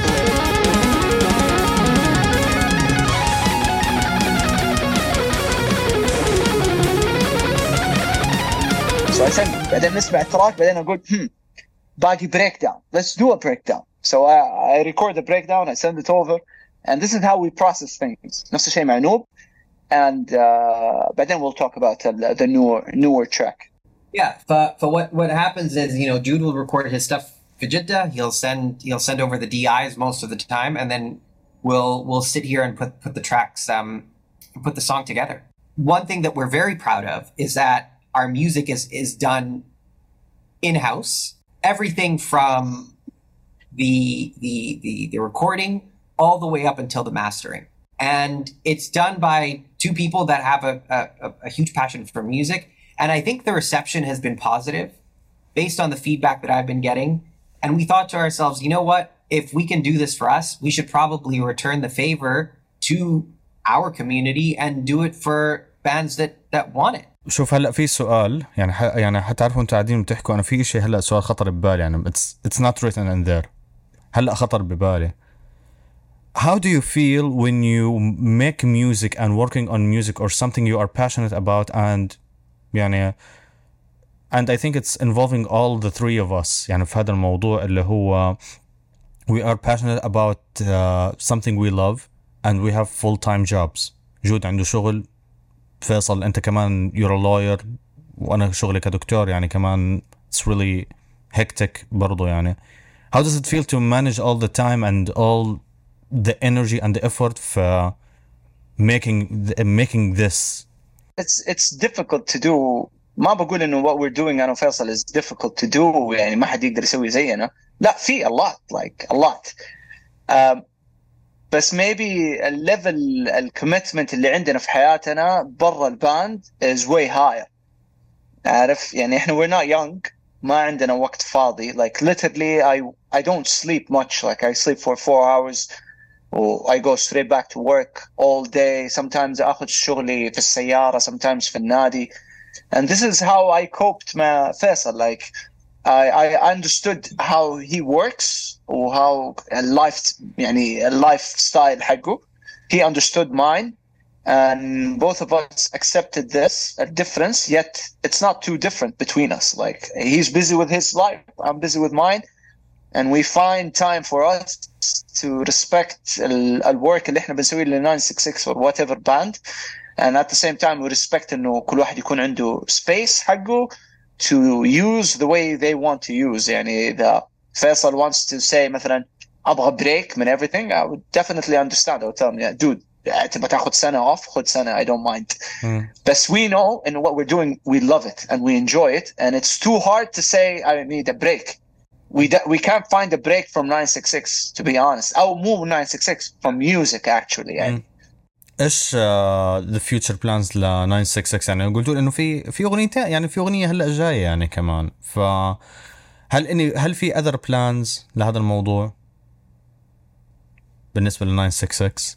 So I send, بعدين نسمع التراك, بعدين أقول باقي breakdown. Let's do a breakdown. So I record the breakdown, I send it over, and this is how we process things. نفس الشيء مع نوب, and but then we'll talk about the newer track. Yeah, but what happens is, you know, Jude will record his stuff for Jeddah. He'll send over the DIs most of the time, and then we'll sit here and put the tracks, put the song together. One thing that we're very proud of is that our music is done in-house. Everything from the recording all the way up until the mastering, and it's done by two people that have a huge passion for music. And I think the reception has been positive based on the feedback that I've been getting. And we thought to ourselves, you know what, if we can do this for us, we should probably return the favor to our community and do it for bands that want it. شوف هلا في سؤال يعني حتعرفوا انتوا قاعدين بتحكوا, انا في شيء هلا سؤال خطر ببالي, يعني it's not written in there, هلا خطر ببالي. How do you feel when you make music and working on music or something you are passionate about, and يعني and I think it's involving all the three of us يعني في هذا الموضوع اللي هو we are passionate about something we love and we have full-time jobs جود عنده شغل، فيصل أنت كمان you're a lawyer، وأنا شغلي كدكتور يعني كمان it's really hectic برضو يعني. How does it feel to manage all the time and all the energy and the effort for making this? It's difficult to do. ما بقول إنه what we're doing أنا وفيصل is difficult to do يعني ما حد يقدر يسوي زينا. لا في a lot like a lot. بس maybe الليفل الكوميتمنت اللي عندنا في حياتنا برا الباند is way higher. عارف يعني إحنا we're not young. ما عندنا وقت فاضي. Like literally I don't sleep much. Like I sleep for 4 hours. I go straight back to work all day. Sometimes أخذ شغلي في السيارة. Sometimes في النادي. And this is how I coped مع فيصل. Like I understood how he works or how a lifestyle حقه. He understood mine, and both of us accepted this a difference. Yet it's not too different between us. Like he's busy with his life, I'm busy with mine, and we find time for us to respect the work اللي إحنا بنسويه ل 966 or whatever band, and at the same time we respect إنه كل واحد يكون عنده space حقه to use the way they want to use. يعني إذا فيصل wants to say مثلا أبغى break من everything, I would definitely understand. I would tell him, yeah, dude, تبغى تاخد سنة off, خد سنة, I don't mind. But we know in what we're doing, we love it and we enjoy it, and it's too hard to say I need a break. We can't find a break from 966 to be honest. أو مو 966 from music actually يعني. ايش the future plans ل 966 يعني قلتوا انه في اغنيتين يعني في اغنيه هلا جايه يعني كمان، هل في other plans لهذا الموضوع بالنسبه ل 966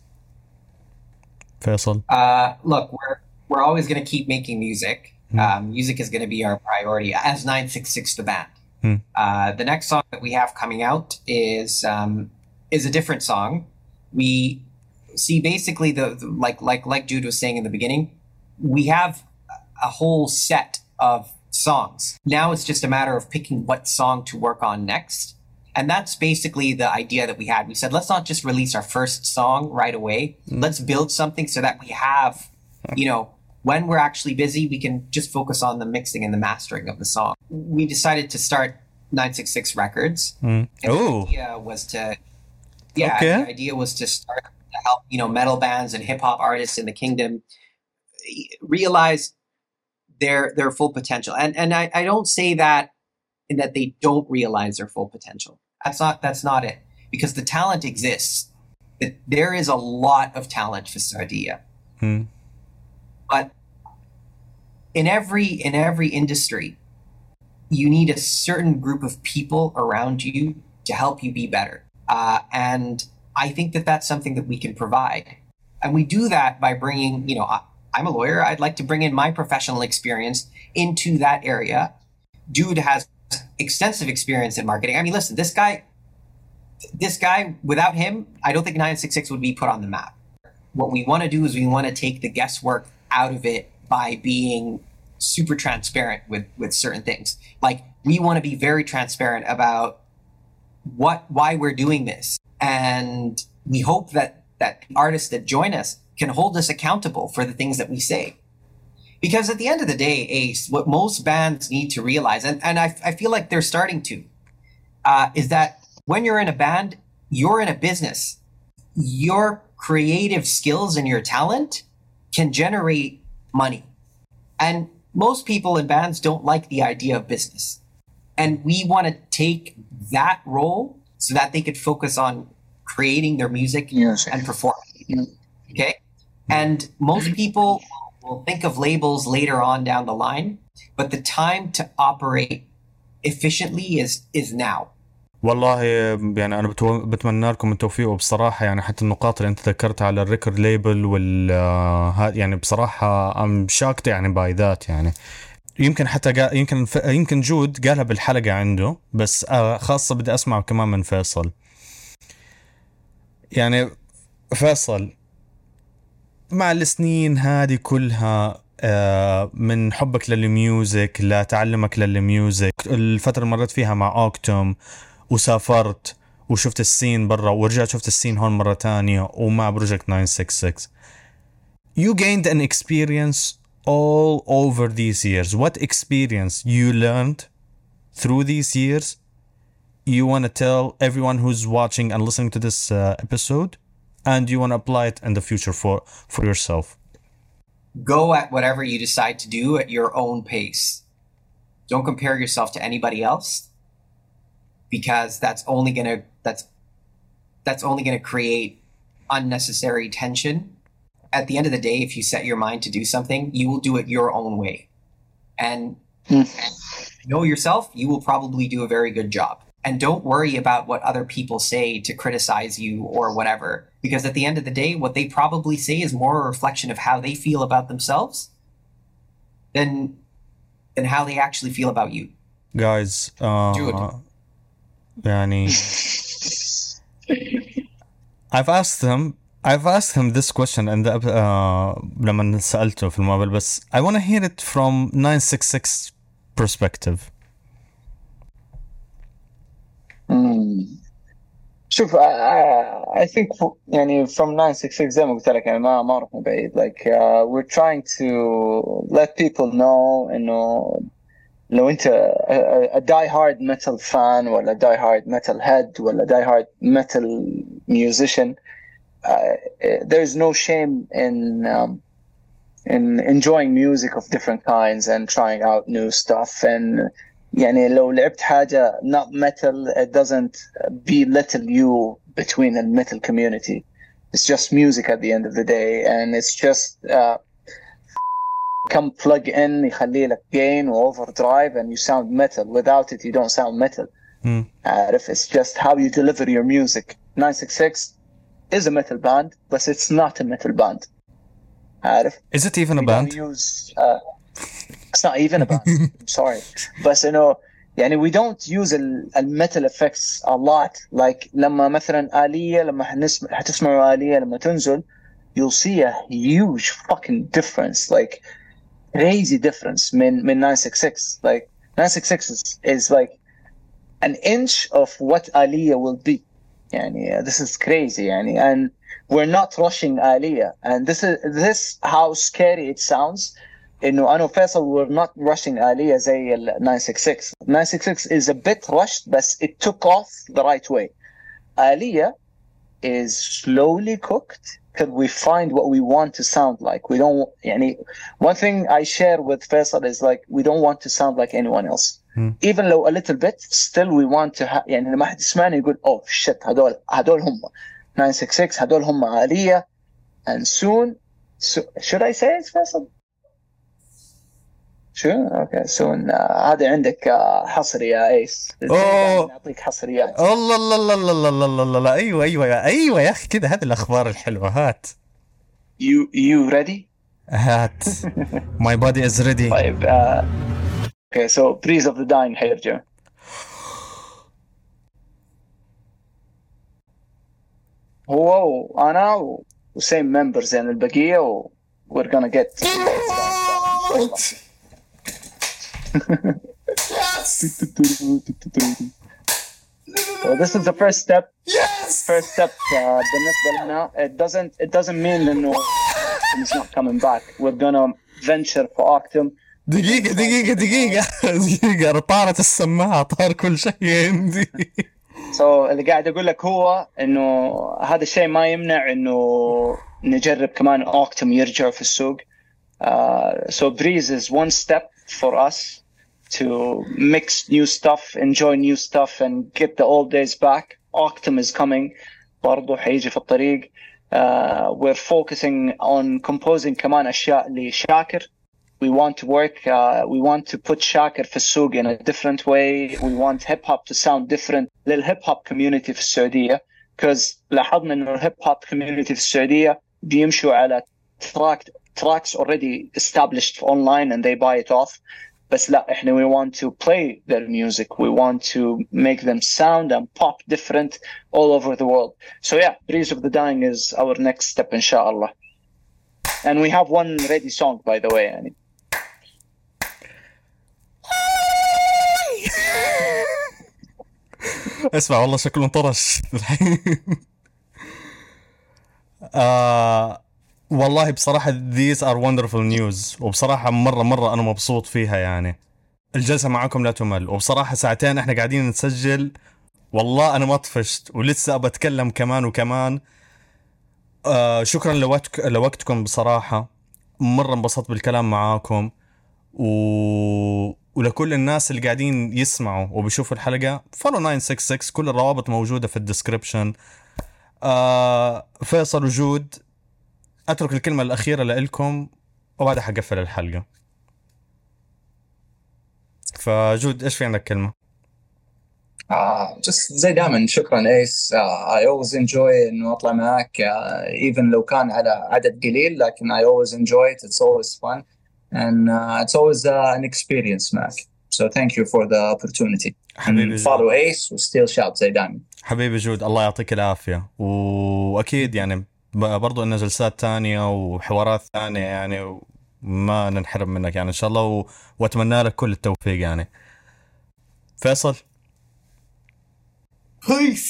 فيصل؟ Look, we're always going to keep making music. Music is going to be our priority as 966 the band. The next song that we have coming out is a different song. We see basically the like Jude was saying in the beginning, we have a whole set of songs. Now it's just a matter of picking what song to work on next. And that's basically the idea that we had. We said, let's not just release our first song right away. Let's build something so that we have, when we're actually busy, we can just focus on the mixing and the mastering of the song. We decided to start 966 Records. And the idea was the idea was to start to help, metal bands and hip hop artists in the kingdom realize their full potential. And I don't say that in that they don't realize their full potential. That's not it. Because the talent exists. There is a lot of talent for Sardia. But in every industry, you need a certain group of people around you to help you be better. And I think that that's something that we can provide. And we do that by bringing, I'm a lawyer. I'd like to bring in my professional experience into that area. Jude has extensive experience in marketing. I mean, listen, this guy, without him, I don't think 966 would be put on the map. What we want to do is we want to take the guesswork out of it by being super transparent with certain things. Like, we want to be very transparent about why we're doing this. And we hope that artists that join us can hold us accountable for the things that we say. Because at the end of the day, Ace, what most bands need to realize, and I feel like they're starting to, is that when you're in a band, you're in a business. Your creative skills and your talent can generate money. And most people in bands don't like the idea of business. And we want to take that role so that they could focus on creating their music and performing. Okay? And most people will think of labels later on down the line, but the time to operate efficiently is now. والله يعني أنا بتمنى لكم التوفيق. وبصراحة يعني حتى النقاط اللي أنت ذكرتها على الريكورد ليبل يعني بصراحة I'm shocked يعني by that يعني. يمكن حتى يمكن جود قالها بالحلقة عنده، بس خاصة بدي أسمع كمان من فيصل. يعني فيصل مع السنين هذه كلها من حبك للميوزك لتعلمك للميوزك، الفترة اللي مرت فيها مع أوكتوم وسافرت وشفت السين برا ورجعت شفت السين هون مرة تانية ومع بروجكت 966، you gained an experience all over these years. What experience you learned through these years you want to tell everyone who's watching and listening to this episode, and you want to apply it in the future for yourself? Go at whatever you decide to do at your own pace. Don't compare yourself to anybody else, because that's only gonna create unnecessary tension. At the end of the day, if you set your mind to do something, you will do it your own way. And if you know yourself, you will probably do a very good job. And don't worry about what other people say to criticize you or whatever, because at the end of the day, what they probably say is more a reflection of how they feel about themselves than how they actually feel about you. Guys, Dude. يعني I've asked him this question and لما سألته في المقابل, بس I want to hear it from 966 perspective. شوف, I think يعني from 966 زي ما قلت لك يعني ما رحنا بعيد. Like we're trying to let people know إنه لو أنت a die hard metal fan ولا die hard metal head ولا die hard metal musician, there's no shame in enjoying music of different kinds and trying out new stuff. And يعني لو لعبت حاجة not metal, it doesn't belittle you between the metal community. It's just music at the end of the day, and it's just come plug in يخلي لك gain or overdrive and you sound metal. Without it, you don't sound metal. If it's just how you deliver your music. 966 is a metal band, but it's not a metal band. Is it even a band? It's not even a band. I'm sorry, but you know, يعني we don't use الميتال effects a lot. Like لما مثلا آلية, لما هتسمعوا آلية لما تنزل, you'll see a huge fucking difference, like crazy difference من 966. Like 966 is like an inch of what آلية will be. يعني this is crazy يعني, and we're not rushing آلية, and this how scary it sounds. إنه أنا وفيصل we're not rushing آلية زي ال 966. 966 is a bit rushed, but it took off the right way. آلية is slowly cooked till we find what we want to sound like. We don't يعني, one thing I share with Faisal is like we don't want to sound like anyone else. Even though a little bit, still we want to يعني لما حد يسمعني يقول oh shit هدول هم 966, هدول هم آلية. And soon, should I say it, Faisal? شو؟ اوكي soon. هذا عندك حصري يا ايس. نعطيك حصريات. الله الله الله الله الله الله الله. ايوه يا اخي كذا, هذه الاخبار الحلوه. هات. You ready? هات. My body is ready. طيب okay, so Breeze of the Dying حيرجع. هو وانا وsame members يعني البقيه, و we're gonna get Yes! So this is the first step. Yes! First step بالنسبة لنا. It doesn't mean إنه it's not coming back. We're gonna venture for Octum. دقيقة طارت السماعة, طار كل شيء عندي. So اللي قاعد أقول لك هو إنه هذا الشيء ما يمنع إنه نجرب كمان Octum يرجع في السوق. So Breeze is one step for us to mix new stuff, enjoy new stuff, and get the old days back. Octum is coming. برضو حيجي في الطريق. We're focusing on composing كمان أشياء لشاكر. We want to work, we want to put شاكر في السوق in a different way. We want hip hop to sound different للhip hop community في السعودية. Because لاحظنا إنه الhip hop community في السعودية بيمشوا على tracks already established online and they buy it off. But لا, احنا we want to play their music. We want to make them sound and pop different all over the world. So yeah, Breeze of the Dying is our next step, inshallah. And we have one ready song, by the way. يعني. اسمع والله شكله انطرش الحين. والله بصراحة these are wonderful news، وبصراحة مرة أنا مبسوط فيها يعني. الجلسة معكم لا تمل، وبصراحة ساعتين احنا قاعدين نسجل، والله أنا ما طفشت ولسه بتكلم كمان وكمان. شكرا لوقتكم بصراحة، مرة انبسطت بالكلام معاكم. ولكل الناس اللي قاعدين يسمعوا وبيشوفوا الحلقة، فولو 966، كل الروابط موجودة في الديسكريبشن. فيصل وجود، أترك الكلمة الأخيرة لإلكم وبعدها حقفل الحلقة. فجود إيش في عندك كلمة؟ just زي دائما شكرا ايس. I always enjoy انه اطلع معك even لو كان على عدد قليل، لكن I always enjoy it. It's always fun and it's always an experience معك. So thank you for the opportunity. حبيبي follow ace و still shout زي دائما. حبيبي جود، الله يعطيك العافية. وأكيد يعني برضو إن جلسات تانية وحوارات ثانية يعني، وما ننحرم منك يعني إن شاء الله. وأتمنى لك كل التوفيق يعني. فيصل. Peace.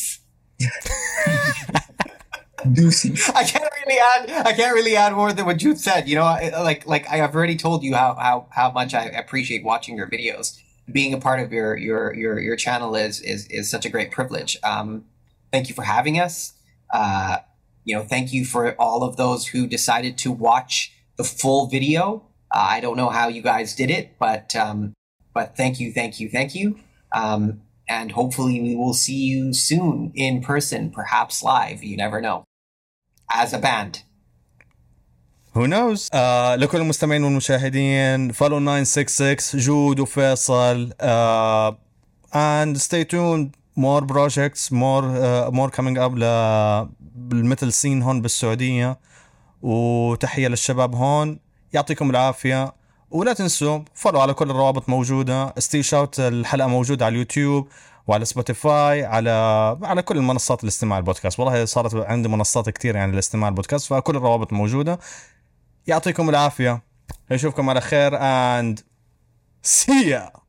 Deuces. I can't really add more than what Jude said. You know, like I have already told you how much I appreciate watching your videos. Being a part of your channel is such a great privilege. Thank you for having us. You know, thank you for all of those who decided to watch the full video. I don't know how you guys did it, but thank you. And hopefully we will see you soon in person, perhaps live. You never know. As a band. Who knows? لكل المستمعين والمشاهدين، follow 966 جود وفيصل. And stay tuned. More projects, more coming up بالمثل سين هون بالسعودية. وتحية للشباب هون، يعطيكم العافية. ولا تنسوا فولو على كل الروابط موجودة. ستيل شاوت الحلقة موجودة على اليوتيوب وعلى سبوتيفاي، على كل المنصات الاستماع البودكاست. والله صارت عندي منصات كتير يعني الاستماع البودكاست، فكل الروابط موجودة. يعطيكم العافية، نشوفكم على خير and see ya.